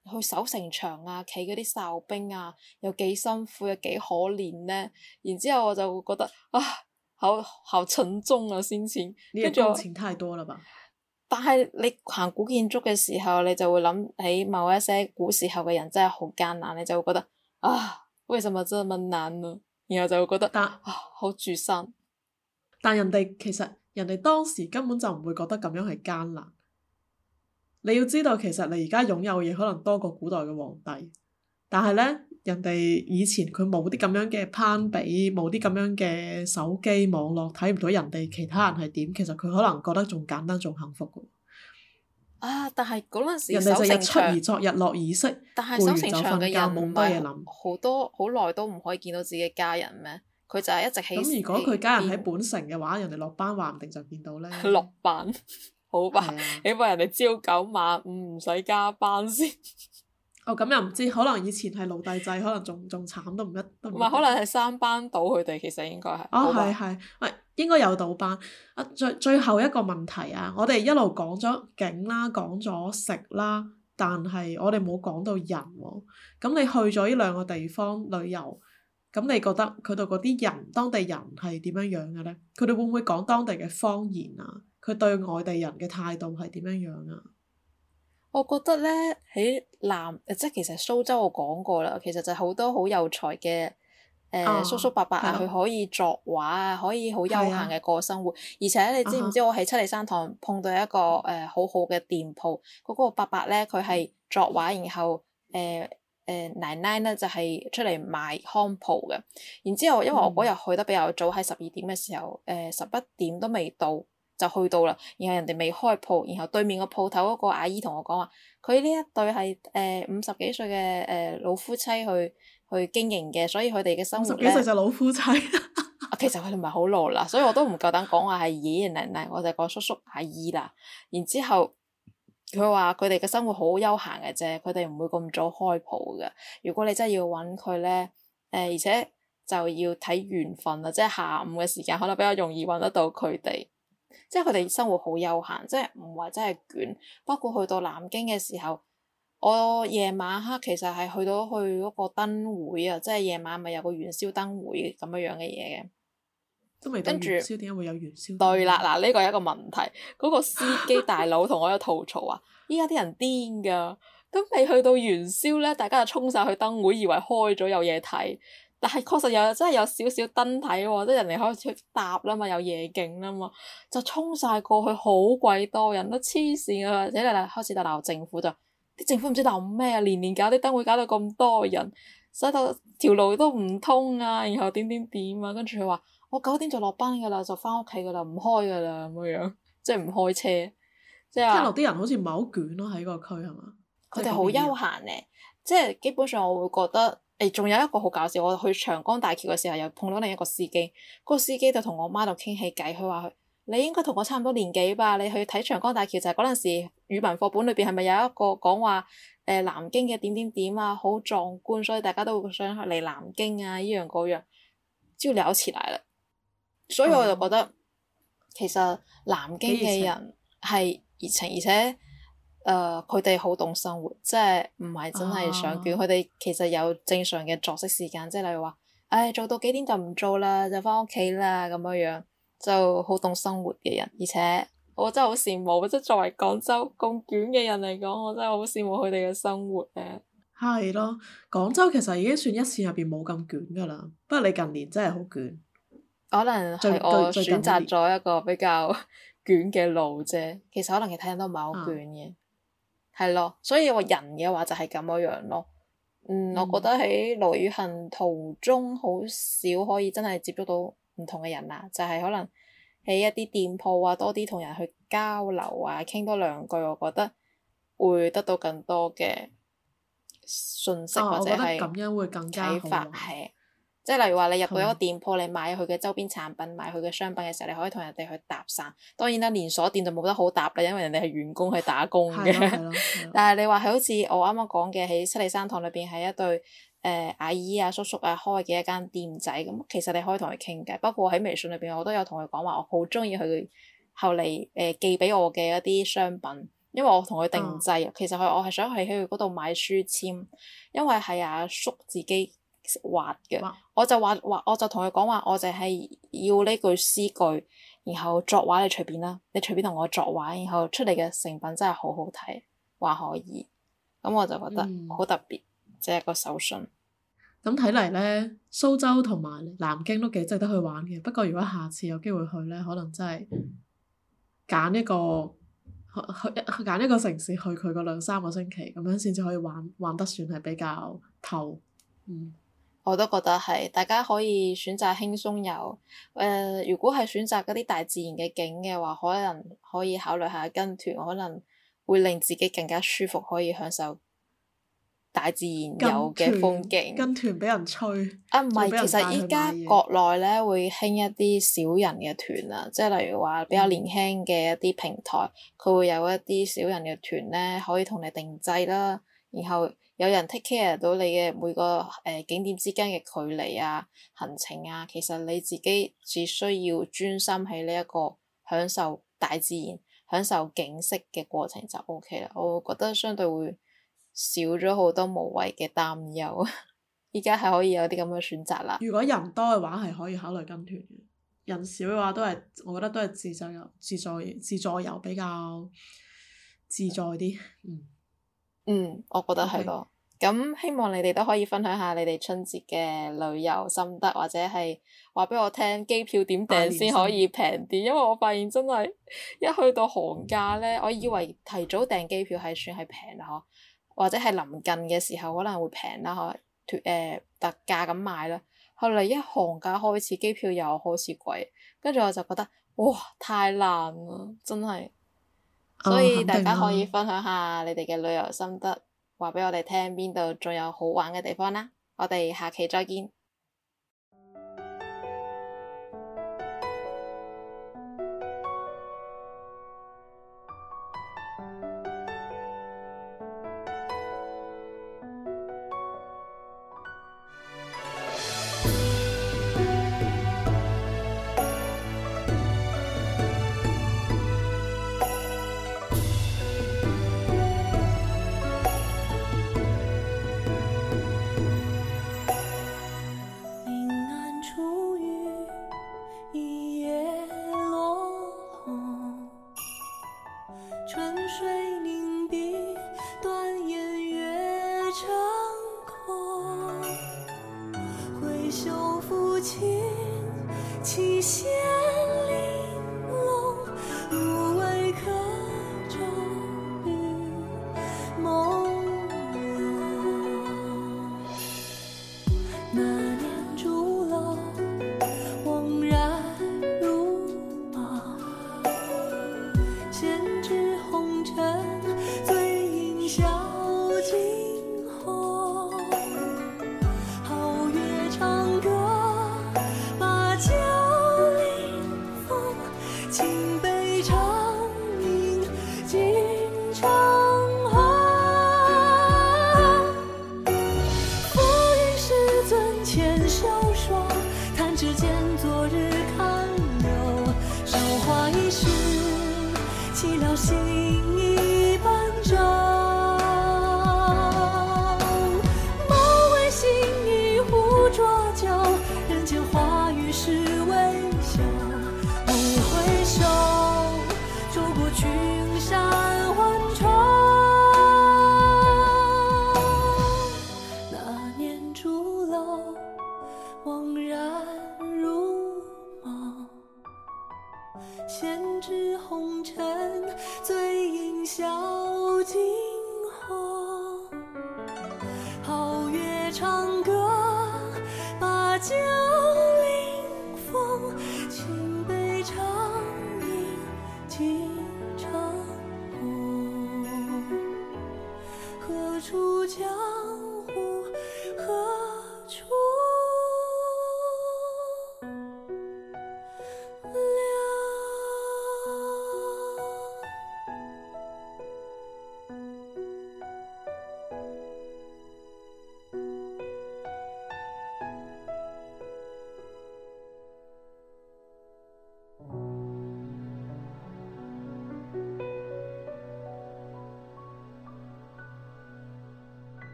去守城牆啊，企嗰啲哨兵啊，有幾辛苦，有幾可憐呢？然之後我就會覺得啊，好好沉重啊，先前。 你跟住我， 嘅共情太多了吧？ 但係你行古建築嘅時候，你就會諗起某一些古時候嘅人真係好艱難，你就會覺得啊，為什麼這麼難呢？然後就會覺得但啊，好沮喪。 但人哋其實人哋當時根本就唔會覺得咁樣係艱難。你要知道，其實你而家擁有嘅嘢可能多過古代嘅皇帝，但係呢，人哋以前佢冇啲咁樣嘅攀比，冇啲咁樣嘅手機網絡，睇唔到人哋其他人係點，其實佢可能覺得仲簡單仲幸福嘅。 啊！但係嗰陣時人哋就日出守城牆， 而作，日落而息， 但係攰完就守城牆瞓覺， 嘅人唔冇多嘢係諗。 好多好耐都唔可以見到自己嘅家人咩？佢就係一直喺咁如果佢家人喺喺本城嘅話，人哋落班話唔定就見到呢。 邊落班，好吧？ 係啊。 起碼人哋朝九晚五唔使加班先。 哦，咁又唔知，可能以前係奴隸制，可能仲仲慘都唔一都唔一定。 唔係，可能係三班倒佢哋，其實應該係。 哦， 好吧係係，喂，應該有倒班。啊，最最後一個問題啊，我哋一路講咗景啦，講咗食啦，但係我哋冇講到人喎。咁你去咗呢兩個地方旅遊，咁你覺得佢哋嗰啲人，當地人係點樣樣嘅呢？佢哋會唔會講當地嘅方言啊？佢對外地人嘅態度係點樣樣啊？ 我覺得咧喺南，即係其實蘇州我講過啦，其實就好多好有才嘅誒、呃啊叔叔伯伯啊， 係咯佢可以作畫啊，可以好悠閒係啊嘅過生活。而且你知唔啊哈知我喺七里山堂碰到一個誒、呃、好好嘅店鋪，嗰、個伯伯咧佢係作畫，然後誒誒、呃呃、奶奶咧就係、出嚟賣康鋪嘅。然之後因為我嗰日去得比較早，喺十二點嘅時候，誒十一點都未到。就去到啦，然後人哋未開鋪，然後對面個鋪頭嗰個阿姨同我講話，佢呢一對係誒五十幾歲嘅誒老夫妻去去經營嘅，所以佢哋嘅生活咧， 五十幾歲就老夫妻。 啊其實佢哋唔係好老啦，所以我都唔夠膽講話係爺爺奶奶，我就講叔叔阿姨啦。然之後佢話佢哋嘅生活好悠閒嘅啫，佢哋唔會咁早開鋪嘅。如果你真係要揾佢咧，誒、呃、而且就要睇緣分啦，即係下午嘅時間可能比較容易揾得到佢哋。即係佢哋生活好悠閒，即係唔話真係捲。包括去到南京嘅時候，我夜晚黑其實係去到去嗰個燈會啊，即係夜晚咪有個元宵燈會咁樣樣嘅嘢嘅。 都未到跟住元宵，點解會有元宵？ 對啦，嗱呢個係一個問題。嗰、個司機大佬同我有吐槽話：依家啲人癲㗎，咁未去到元宵咧，大家就衝晒去燈會，以為開咗有嘢睇。但係確實有真係有少少燈睇喎，即係人哋開始搭啦嘛，有夜景啦嘛，就衝晒過去，好鬼多人都黐線啊！或者你嚟開始就鬧政府，就啲政府唔知鬧咩啊，年年搞啲燈會搞到咁多人，使到條路都唔通啊，然後點點點啊，跟住佢話我九點就落班㗎啦，就翻屋企㗎啦，唔開㗎啦咁樣，即係唔開車，即係聽落啲人好似唔係好捲咯，喺個區係嘛？ 佢哋好悠閒咧，即係基本上我會覺得。誒，仲有一個好搞笑，我去長江大橋嘅時候，又碰到另一個司機。嗰、嗰個司機就同我媽度傾起偈，佢話：佢你應該同我差唔多年紀吧？你去睇長江大橋就係嗰陣時語文課本裏邊係咪有一個講話誒南京嘅點點點啊，好壯觀，所以大家都會想去嚟南京啊，依樣嗰樣，就聊起來啦。所以我就覺得、嗯、其實南京嘅人係熱情，而且。誒佢哋好懂生活，即係唔係真係想捲。佢哋、啊、其實有正常嘅作息時間，即係例如話，誒、哎、做到幾點就唔做啦，就翻屋企啦咁樣樣，就好懂生活嘅人。而且我真係好羨慕，即係作為廣州咁捲嘅人嚟講，我真係好羨慕佢哋嘅生活嘅。 係咯，廣州其實已經算一線入邊冇咁捲噶啦，不過你近年真係好捲。 可能係我選擇咗一個比較捲嘅路啫，其實可能其他人都唔係好捲嘅。啊係咯，所以我人嘅話就係咁樣樣咯。嗯，嗯我覺得喺旅行途中好少可以真係接觸到唔同嘅人啦，就係、是、可能喺一啲店鋪啊，多啲同人去交流啊，傾多兩句，我覺得會得到更多嘅信息、 哦、 或者係咁樣會更加啟發係。即係例如話，你入到一個店鋪，你買佢嘅周邊產品，買佢嘅商品嘅時候，你可以同人哋去搭訕。當然啦，連鎖店就冇得好搭啦，因為人哋係員工去打工嘅。但係你話係好似我啱啱講嘅，喺七里山堂裏邊係一對誒、呃、阿姨啊、叔叔啊開嘅一間店仔，咁其實你可以同佢傾偈。包括喺微信裏邊，我都有同佢講話，我好中意佢後嚟誒寄俾我嘅一啲商品。 因為我同佢定嗯製，其實佢我係想去佢嗰度買書籤，因為係阿叔自己畫嘅哇， 我就話話我就同佢講話，我就係要呢句詩句，然後作畫你隨便啦，你隨便同我作畫，然後出嚟嘅成品真係好好睇，話可以，咁我就覺得嗯好特別，即係一個手信。 咁睇嚟咧，蘇州同埋南京都幾值得去玩嘅。不過如果下次有機會去咧，可能真係揀一個去去揀一個城市去佢個兩三個星期，咁樣先至可以玩玩得算係比較透。嗯， 我都覺得係，大家可以選擇輕鬆遊。誒、呃，如果係選擇嗰啲大自然嘅景嘅話，可能可以考慮下跟團，可能會令自己更加舒服，可以享受大自然有嘅風景。 跟團俾人催啊，唔係，其實依家國內咧會興一啲少人嘅團啊，即係例如話比較年輕嘅一啲平台，佢會有一啲少人嘅團咧，可以同你定製啦，然後有人 take care 到你嘅每個誒、呃、景點之間嘅距離啊、行程啊，其實你自己只需要專心喺呢一個享受大自然、享受景色嘅過程就 O K 啦。我覺得相對會少咗好多無謂嘅擔憂，依家係可以有啲咁嘅選擇啦。 如果人多嘅話，係可以考慮跟團嘅；人少嘅話，都係我覺得都係自助遊、自助自助遊比較自在啲。嗯， 嗯，我覺得係咯。咁 Okay. 希望你哋都可以分享下你哋春節嘅旅遊心得，或者係話俾我聽機票點訂先可以平啲。因為我發現真係一去到寒假咧，我以為提早訂機票係算係平啦，嗬。或者係臨近嘅時候可能會平啦，可脱誒特價咁買啦。後嚟一寒假開始，機票又開始貴，跟住我就覺得哇太難啦，真係。 哦、 所以大家可以分享下你哋嘅旅遊心得，話俾我哋聽邊度仲有好玩嘅地方啦。我哋下期再見。 唱歌，把酒。